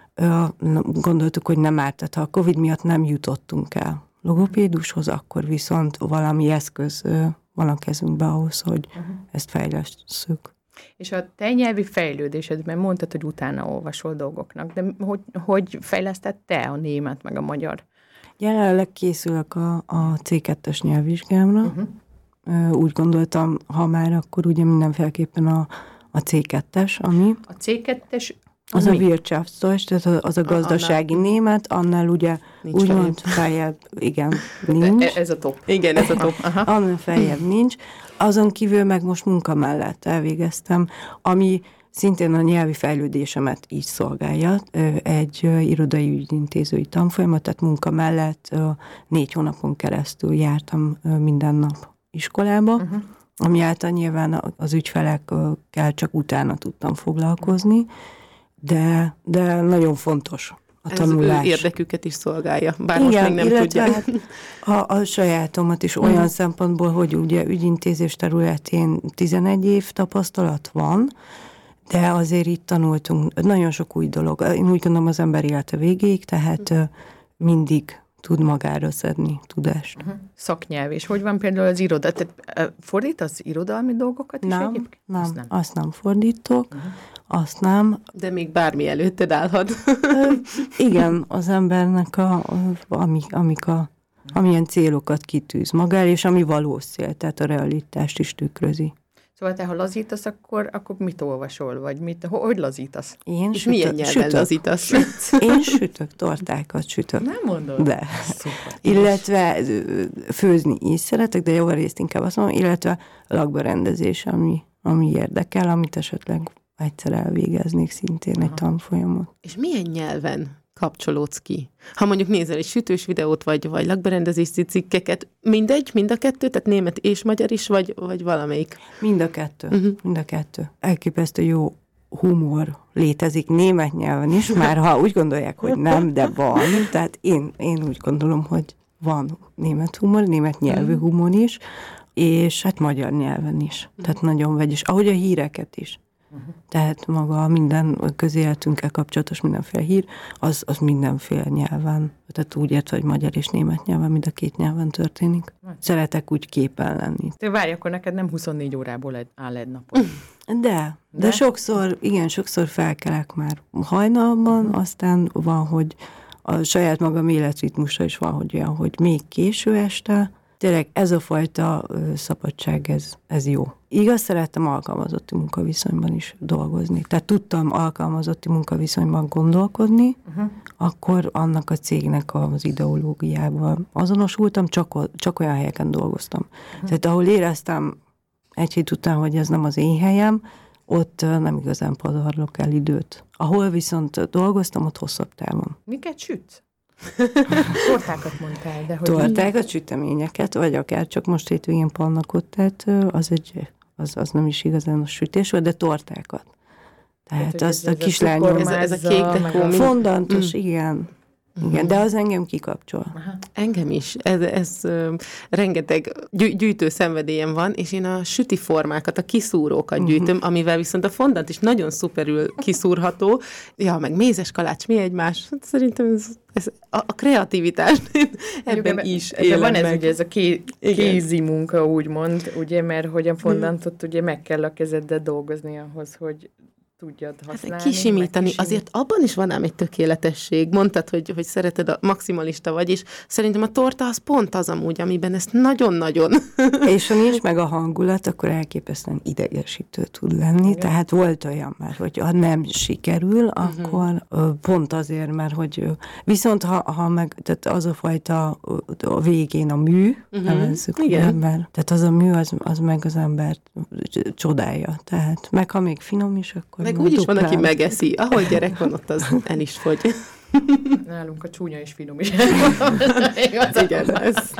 gondoltuk, hogy nem árt, tehát ha a Covid miatt nem jutottunk el logopédushoz, akkor viszont valami eszköz van a kezünkbe ahhoz, hogy uh-huh. ezt fejlesszük. És a te nyelvi fejlődésedben mondtad, hogy utána olvasol dolgoknak, de hogy, hogy fejlesztett te a német meg a magyar? Jelenleg készülök a, a cé kettes nyelvvizsgámra. Uh-huh. Úgy gondoltam, ha már, akkor ugye mindenféleképpen a, a cé kettes, ami... A cé kettes... Az mi? A Wirtschaftsdeutsch, tehát az a gazdasági annál, német, annál ugye úgymond feljebb, igen, nincs. Ez a top. Igen, ez a top. Aha. Annál feljebb nincs. Azon kívül meg most munka mellett elvégeztem, ami szintén a nyelvi fejlődésemet így szolgálja. Egy irodai ügyintézői tanfolyamat, tehát munka mellett négy hónapon keresztül jártam minden nap iskolába, uh-huh. ami által nyilván az ügyfelekkel csak utána tudtam foglalkozni, De, de nagyon fontos a ez tanulás. Ez érdeküket is szolgálja, bár igen, most még nem tudják. Hát a, a sajátomat is olyan mm. szempontból, hogy ugye ügyintézés területén tizenegy év tapasztalat van, de azért itt tanultunk nagyon sok új dolog. Én úgy gondolom, az ember élete végéig, tehát mm. mindig tud magára szedni tudást. Uh-huh. Szaknyelv, és hogy van például az iroda? Tehát fordítasz irodalmi dolgokat is nem, egyébként? Nem, azt nem, azt nem fordítok, uh-huh. azt nem. De még bármi előtted állhat. Igen, az embernek a, ami, amik a, amilyen célokat kitűz maga el, és ami valós cél, tehát a realitást is tükrözi. Szóval te, ha lazítasz, akkor, akkor mit olvasol, vagy mit, hogy lazítasz? Én és sütök, milyen nyelven sütök. lazítasz? Én sütök, tortákat sütök. Nem mondod? De. Szuper. Illetve főzni is szeretek, de javarészt inkább azt mondom, illetve lakberendezés, ami, ami érdekel, amit esetleg egyszer elvégeznék szintén Aha. egy tanfolyamot. És milyen nyelven kapcsolódsz ki? Ha mondjuk nézel egy sütős videót, vagy, vagy lakberendezési cikkeket, mindegy, mind a kettő, tehát német és magyar is, vagy, vagy valamelyik? Mind a kettő, uh-huh. mind a kettő. Elképesztő jó humor létezik német nyelven is, már ha úgy gondolják, hogy nem, de van. Tehát én, én úgy gondolom, hogy van német humor, német nyelvű humor is, és hát magyar nyelven is. Tehát nagyon vegyes. Ahogy a híreket is. Uh-huh. Tehát maga minden közéletünkkel kapcsolatos mindenféle hír, az, az mindenféle nyelven. Tehát úgy értve, hogy magyar és német nyelven, mind a két nyelven történik. Szeretek úgy képen lenni. Te várj, akkor neked nem huszonnégy órából áll egy napot. De, de, de sokszor, igen, sokszor felkelek már hajnalban, uh-huh. aztán van, hogy a saját magam életritmusa is van, hogy olyan, hogy még késő este. Tényleg ez a fajta ö, szabadság, ez, ez jó. Igaz, szerettem alkalmazotti munkaviszonyban is dolgozni. Tehát tudtam alkalmazotti munkaviszonyban gondolkodni, uh-huh. akkor annak a cégnek az ideológiával azonosultam, csak, csak olyan helyeken dolgoztam. Uh-huh. Tehát ahol éreztem egy hét után, hogy ez nem az én helyem, ott nem igazán pazarlok el időt. Ahol viszont dolgoztam, ott hosszabb távon. Miket sütsz? Tortákat mondtál, de hogy... Tortákat, süteményeket, vagy akár csak most hétvégén pannakot, tehát az, egy, az, az nem is igazán a sütés volt, de tortákat. Tehát, tehát azt a kislányom... Ez, ez a kék dekó. Fondantos, mm. igen. Igen, de az engem kikapcsol. Aha. Engem is. Ez, ez uh, rengeteg gyű, gyűjtő szenvedélyem van, és én a süti formákat, a kiszúrókat uh-huh. gyűjtöm, amivel viszont a fondant is nagyon szuperül kiszúrható. Ja, meg mézes kalács, mi egymás? Hát szerintem ez, ez a, a kreativitás ebben is élem van ez meg. Ugye ez a ké, kézi munka, úgymond, ugye, mert hogy a fondantot ugye meg kell a kezeddel dolgozni ahhoz, hogy tudjad használni. Hát kisimítani, azért abban is van ám egy tökéletesség. Mondtad, hogy, hogy szereted, a maximalista vagy, és szerintem a torta az pont az amúgy, amiben ezt nagyon-nagyon... És ha nincs meg a hangulat, akkor elképesztően idegesítő tud lenni. Igen. Tehát volt olyan már, hogy ha nem sikerül, uh-huh. akkor pont azért, mert hogy viszont ha, ha meg, tehát az a fajta a végén a mű, uh-huh. nevezzük, igen. Ember, tehát az a mű, az, az meg az embert csodálja. Tehát meg ha még finom is, akkor meg úgy is van, aki megeszi. Ahol gyerek van, ott az el is fogy. Nálunk a csúnya és finom is. Igen, ez.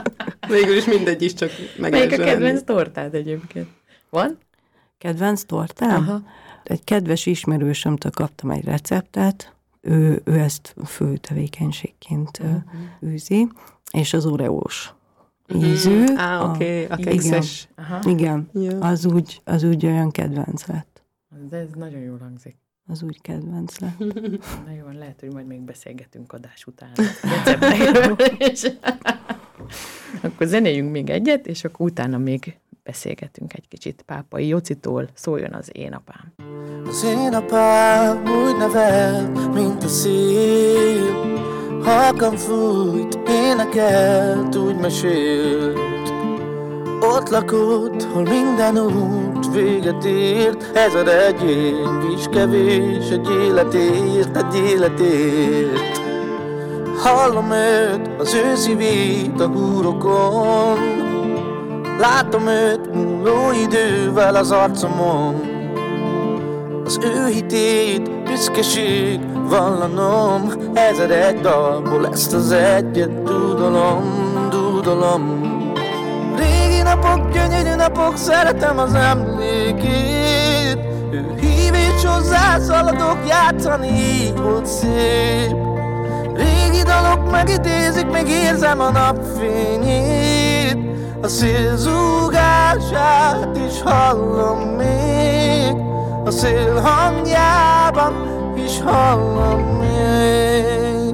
Végül is mindegy is, csak meg Melyik a kedvenc tortád egyébként? Van? Kedvenc tortám? Aha. Egy kedves ismerősömtől kaptam egy receptet, ő, ő ezt fő tevékenységként uh-huh. űzi, és az oreós ízű. Á, a- oké, a igen, kekszes. Aha. igen, Ja. az úgy, az úgy olyan kedvenc lett. De ez nagyon jól hangzik. Az úgy kedvenc lett. Na jó, lehet, hogy majd még beszélgetünk adás után. Receptekről is. Akkor zenéljünk még egyet, és akkor utána még beszélgetünk egy kicsit Pápai Jocitól. Szóljon az Én apám. Az én apám úgy nevelt, mint a szél, halkan fújt, énekelt, úgy mesélt. Ott lakott, hol minden út véget ért, ezer egy év is kevés, egy életért, egy életért. Hallom őt, az ő szívét a húrokon, látom őt múló idővel az arcomon. Az ő hitét, büszkeség vallanom, ezer egy dalból ezt az egyet dúdolom, dúdolom. Régi napok, gyönyörű napok, szeretem az emlékét. Ő hív és hozzá szaladok, játszani így volt szép. Régi dalok megidézik, még érzem a napfényét. A szél zúgását is hallom még, a szél hangjában is hallom még.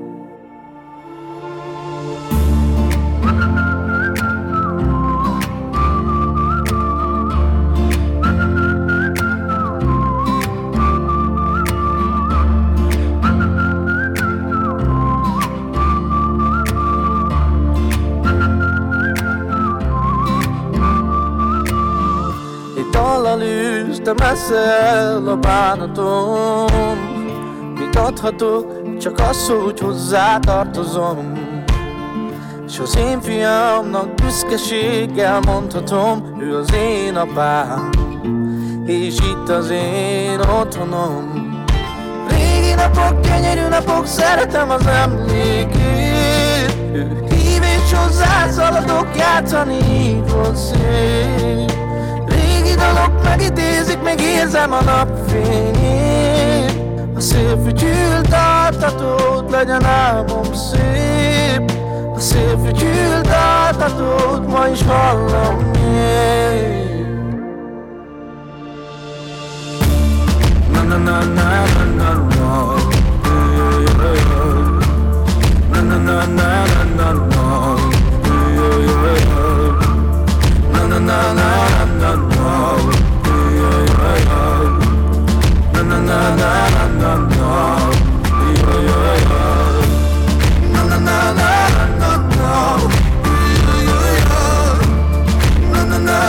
Dallal űzte messze el a bánatom. Mit adhatok, csak az, hogy hozzá tartozom. S az én fiamnak büszkeséggel mondhatom, ő az én apám, és itt az én otthonom. Régi napok, gyönyörű napok, szeretem az emlékét. Ő hív és hozzá szaladok, játszani így volt szép. Régi dalok megidézik, még érzem a napfényét. A szél fütyült altatót, legyen álmom szép. A szél fütyült altatót, ma is hallom még. Na na na na na na na. Na na na na na na na. Na na na na na na. Na na na na na na. Na na na na na. Na na na na na. Na na na na na. Na na na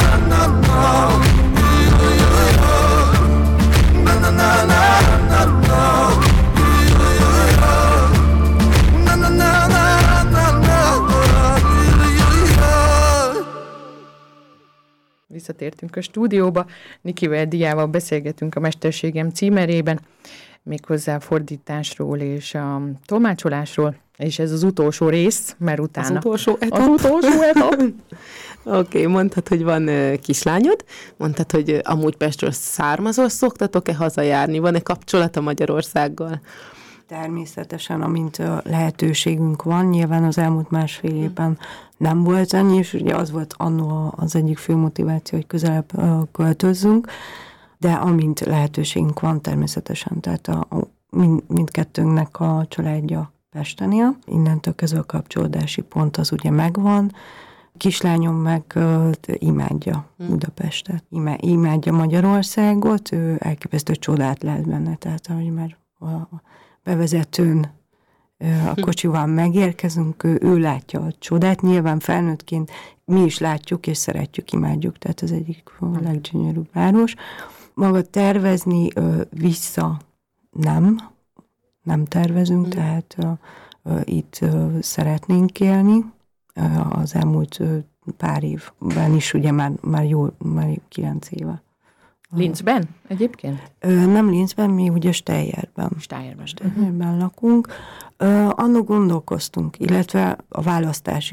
Visszatértünk a stúdióba, Nikivel Diával beszélgetünk a Mesterségem címerében, méghozzá a fordításról és a tolmácsolásról, és ez az utolsó rész, mert utána... Az utolsó etap. Az utolsó etap. Oké, okay, mondtad, hogy van uh, kislányod, mondtad, hogy uh, amúgy Pestről származol, szoktatok-e hazajárni, van-e kapcsolata Magyarországgal? Természetesen, amint lehetőségünk van, nyilván az elmúlt másfél évben nem volt ennyi, és ugye az volt annó az egyik fő motiváció, hogy közelebb költözzünk, de amint lehetőségünk van, természetesen, tehát a, a, mind, mindkettőnknek a családja Pesten él, innentől kezdve a kapcsolódási pont az ugye megvan, kislányom meg uh, imádja Budapestet, Ima, imádja Magyarországot, ő elképesztő csodát lehet benne, tehát ahogy már a bevezetőn a kocsival megérkezünk, ő, ő látja a csodát, nyilván felnőttként mi is látjuk és szeretjük, imádjuk, tehát az egyik a leggyönyörűbb város. Maga tervezni vissza nem, nem tervezünk, mm. tehát itt szeretnénk élni. Az elmúlt pár évben is, ugye már, már jó, már kilenc éve. Linzben egyébként? Ö, nem Linzben, mi ugye Steyerben. Steyerben. Steyerben lakunk. Ö, annak gondolkoztunk, illetve a választás is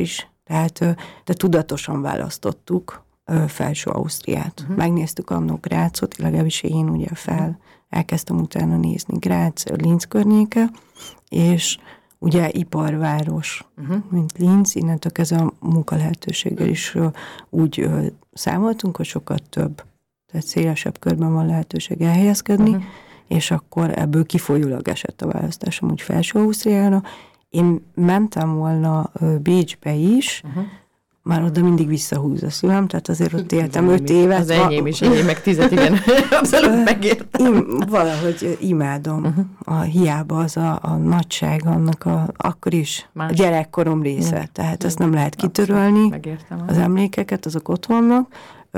Tehát de tudatosan választottuk Felső Ausztriát. Uh-huh. Megnéztük annó Grácot, legalábbis én ugye fel, elkezdtem utána nézni Grác, Linz környéke, és ugye iparváros, uh-huh. mint Linz, innentől kezdve a munkalehetőséggel is uh, úgy uh, számoltunk, hogy sokkal több, tehát szélesebb körben van lehetőség elhelyezkedni, uh-huh. és akkor ebből kifolyólag esett a választásom úgy Felső Ausztriára. Én mentem volna uh, Bécsbe is, uh-huh. már oda mindig visszahúz a szívem, tehát azért ott éltem öt évet. Az enyém is, enyém meg tizet, igen. Abszolút megértem. Én valahogy imádom. Uh-huh. A hiába az a, a nagyság annak a, akkor is Más. a gyerekkorom része. Uh-huh. Tehát ezt nem lehet kitörölni. Az emlékeket, azok ott vannak.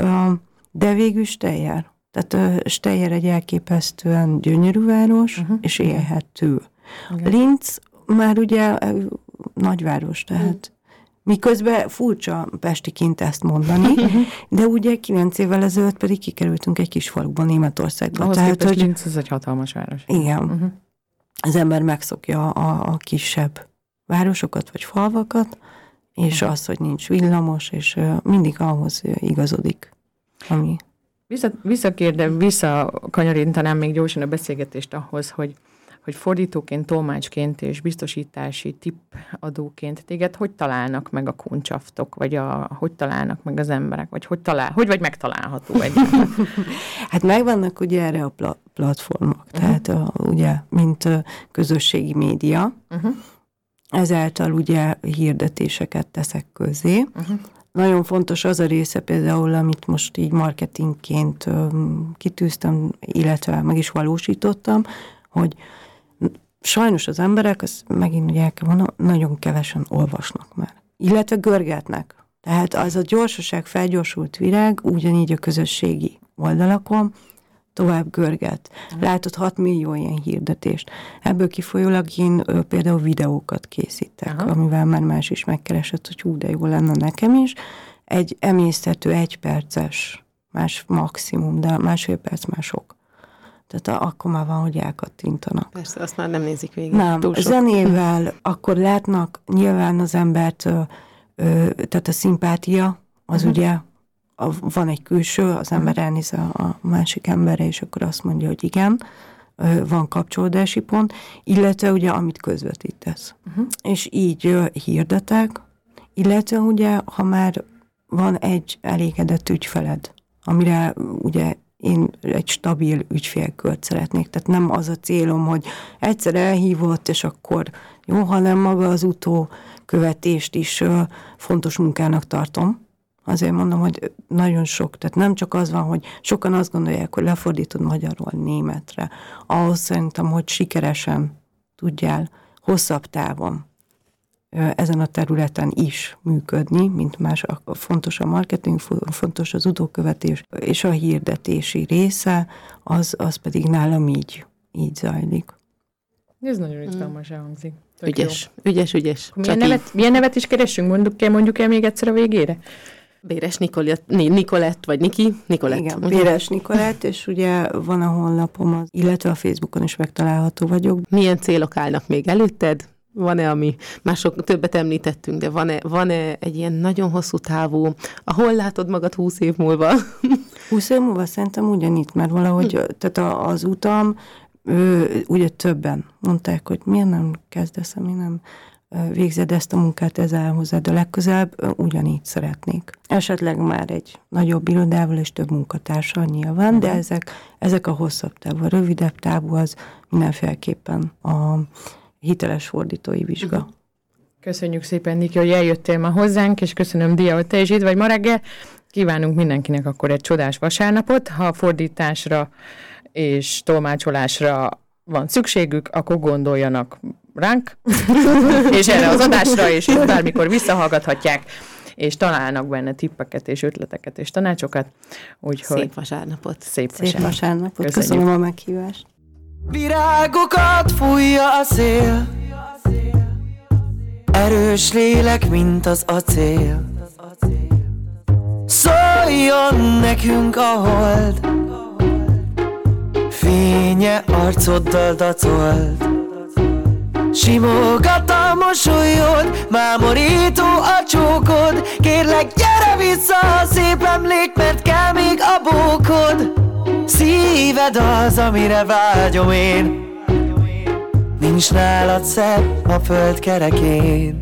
De végül Steyr. Tehát Steyr egy elképesztően gyönyörű város, uh-huh. és élhető. Okay. Linz már ugye nagyváros, tehát uh-huh. miközben furcsa pestiként ezt mondani, de ugye kilenc évvel ezelőtt pedig kikerültünk egy kis faluban, Németországban. Ahhoz Tehát, hogy Linz, ez egy hatalmas város. Igen. Uh-huh. Az ember megszokja a, a kisebb városokat vagy falvakat, és uh-huh. az, hogy nincs villamos, és uh, mindig ahhoz igazodik, ami... Vissza, visszakérdem, visszakanyarítanám még gyorsan a beszélgetést ahhoz, hogy hogy fordítóként, tolmácsként és biztosítási tippadóként téged hogy találnak meg a kuncsaftok, vagy a, hogy találnak meg az emberek, vagy hogy, talál, hogy vagy megtalálható egy? Hát megvannak ugye erre a pla- platformok, uh-huh. tehát a, ugye, mint a közösségi média, uh-huh. ezáltal ugye hirdetéseket teszek közé. Uh-huh. Nagyon fontos az a része például, amit most így marketingként um, kitűztem, illetve meg is valósítottam, hogy sajnos az emberek, azt megint ugye el kell mondanom, nagyon kevesen olvasnak már. Illetve görgetnek. Tehát az a gyorsaság, felgyorsult virág, ugyanígy a közösségi oldalakon tovább görget. Látod hat millió ilyen hirdetést. Ebből kifolyólag én ö, például videókat készítek, Aha. amivel már más is megkeresett, hogy hú, de jó lenne nekem is. Egy emészthető, egyperces, más maximum, de másfél perc már sok. Tehát akkor már van, hogy elkattintanak. Persze, azt már nem nézik végig. Nem, zenével akkor látnak nyilván az embert, ö, ö, tehát a szimpátia, az uh-huh. ugye a, van egy külső, az ember elnéz a, a másik emberre, és akkor azt mondja, hogy igen, ö, van kapcsolódási pont, illetve ugye amit közvetítesz. Uh-huh. És így ö, hirdetek, illetve ugye, ha már van egy elégedett ügyfeled, amire ugye én egy stabil ügyfélkört szeretnék. Tehát nem az a célom, hogy egyszer elhívott, és akkor jó, hanem maga az utókövetést is uh, fontos munkának tartom. Azért mondom, hogy nagyon sok, tehát nem csak az van, hogy sokan azt gondolják, hogy lefordítod magyarról németre. Ahhoz szerintem, hogy sikeresen tudjál hosszabb távon ezen a területen is működni, mint más, fontos a marketing, fontos az utókövetés, és a hirdetési része, az, az pedig nálam így, így zajlik. Ez nagyon izgalmas elhangzik. Ügyes, ügyes, ügyes. Milyen nevet, milyen nevet is keressünk? Mondjuk el, mondjuk el még egyszer a végére? Béres Nikolett, Nikolett, vagy Niki? Nikolett. Igen, Béres Nikolett, és ugye van a honlapom, illetve a Facebookon is megtalálható vagyok. Milyen célok állnak még előtted? Van-e, ami mások többet említettünk, de van-e, van-e egy ilyen nagyon hosszú távú, ahol látod magad húsz év múlva? húsz év múlva szerintem ugyanitt, mert valahogy hm. tehát az utam, ő, ugye többen mondták, hogy miért nem kezdesz, mi nem végzed ezt a munkát, ez áll hozzád a legközelebb, ugyanígy szeretnék. Esetleg már egy nagyobb irodával és több munkatársal nyilván, hm. de ezek, ezek a hosszabb távú, a rövidebb távú az mindenféleképpen a hiteles fordítói vizsga. Köszönjük szépen, Niki, hogy eljöttél ma hozzánk, és köszönöm, Dia, hogy te is itt vagy ma reggel. Kívánunk mindenkinek akkor egy csodás vasárnapot. Ha fordításra és tolmácsolásra van szükségük, akkor gondoljanak ránk, és erre az adásra, és itt bármikor visszahallgathatják, és találnak benne tippeket, és ötleteket, és tanácsokat. Úgyhogy szép vasárnapot. Szép vasárnapot. Szép vasárnapot. Köszönjük. Köszönöm a meghívást. Virágokat fújja a szél, erős lélek, mint az acél. Szóljon nekünk a hold, fénye arcoddal dacolt. Simogat a mosolyod, mámorító a csókod, gyerek, gyere vissza, szép emlék, mert kell még a bókod. Szíved az, amire vágyom én, nincs nálad szebb a föld kerekén.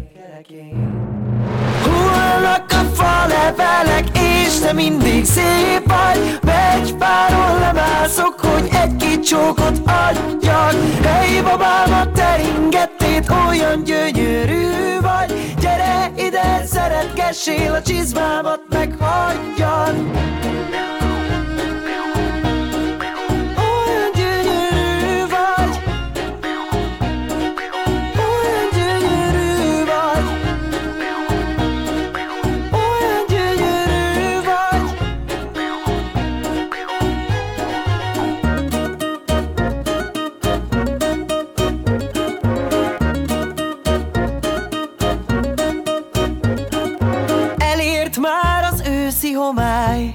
Hullanak a falevelek, és te mindig szép vagy. Megy páron lemászok, hogy egy-két csókot adjak. Hey babám, a teringettét, olyan gyönyörű vagy. Gyere ide, szeretgessél, a csizmámat meghagyjad. Olyan gyönyörű vagy, olyan gyönyörű vagy, olyan gyönyörű vagy. Elért már az őszi homály,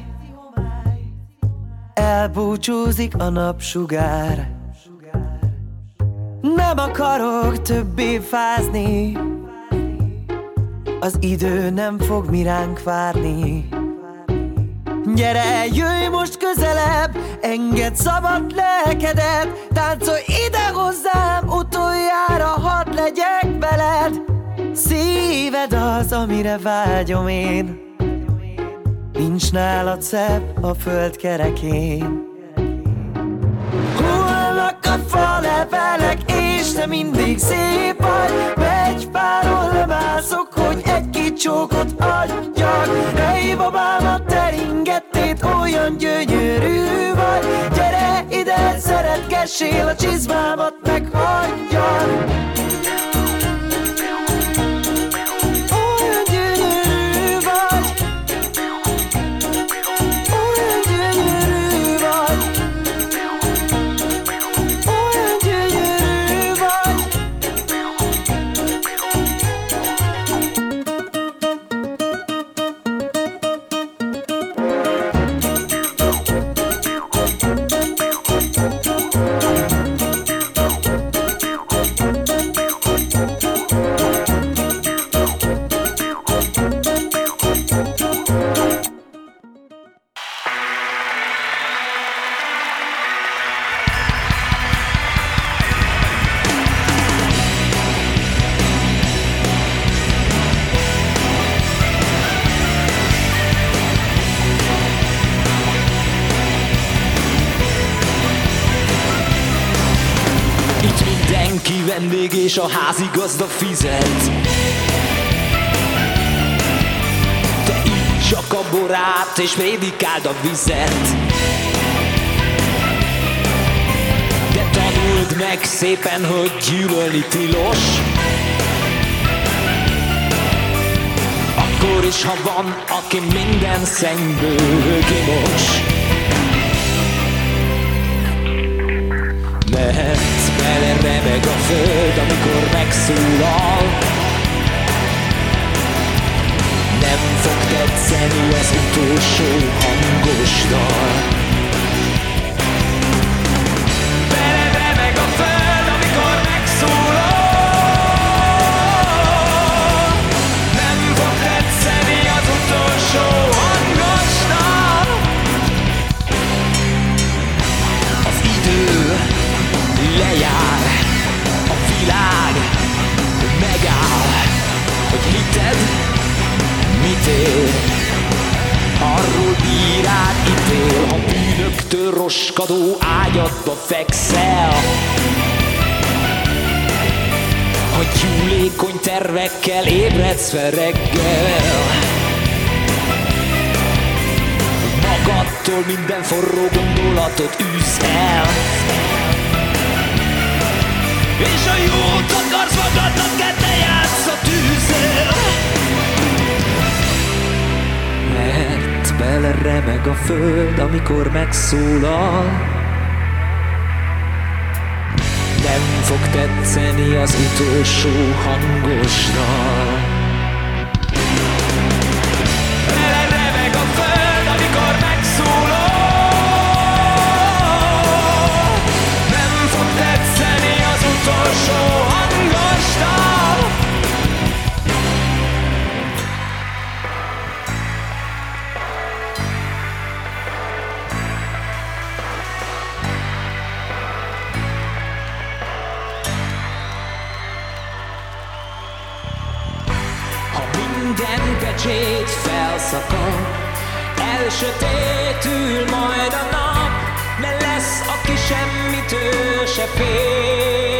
elbúcsúzik a napsugár. Nem akarok többé fázni, az idő nem fog mi ránk várni. Gyere, jöjj most közelebb, engedd szabad lelkedet. Táncolj ide hozzám, utoljára hadd legyek veled. Szíved az, amire vágyom én, nincs nálad szebb a föld kerekén. Hullanak a falevelek, és te mindig szép vagy. Megy páron lemászok, hogy egy-két csókot adjak. Hey babám, a teringettét, olyan gyönyörű vagy. Gyere ide, szeretgessél, a csizmámat meghagyjad. Vendég és a házigazda fizet. Te így csak a borát és prédikáld a vizet. De tanuld meg szépen, hogy gyűlölni tilos. Akkor is, ha van, aki minden szennyből kimos. Mehetsz bele, remeg a föld, amikor megszólal. Nem fog tetszeni az utolsó hangos dal. Bele remeg a föld, amikor megszólal. Nem fog tetszeni az utolsó hangos dal. Az idő lejár, a világ megáll, hogy hited mit ér. Arról bírád ítél, ha bűnöktől roskadó ágyadba fekszel. Ha gyúlékony tervekkel ébredsz fel reggel. Magadtól minden forró gondolatot űzz el. És a jót akarsz magadnak, kell te játsz a tűzzel. Mert beleremeg a föld, amikor megszólal. Nem fog tetszeni az utolsó hangos dal. Beleremeg a föld, amikor megszólal. Nem fog tetszeni az utolsó hangos dal. minden pecsét felszakad, elsötétül majd a nap, mert lesz, aki semmitől se fél.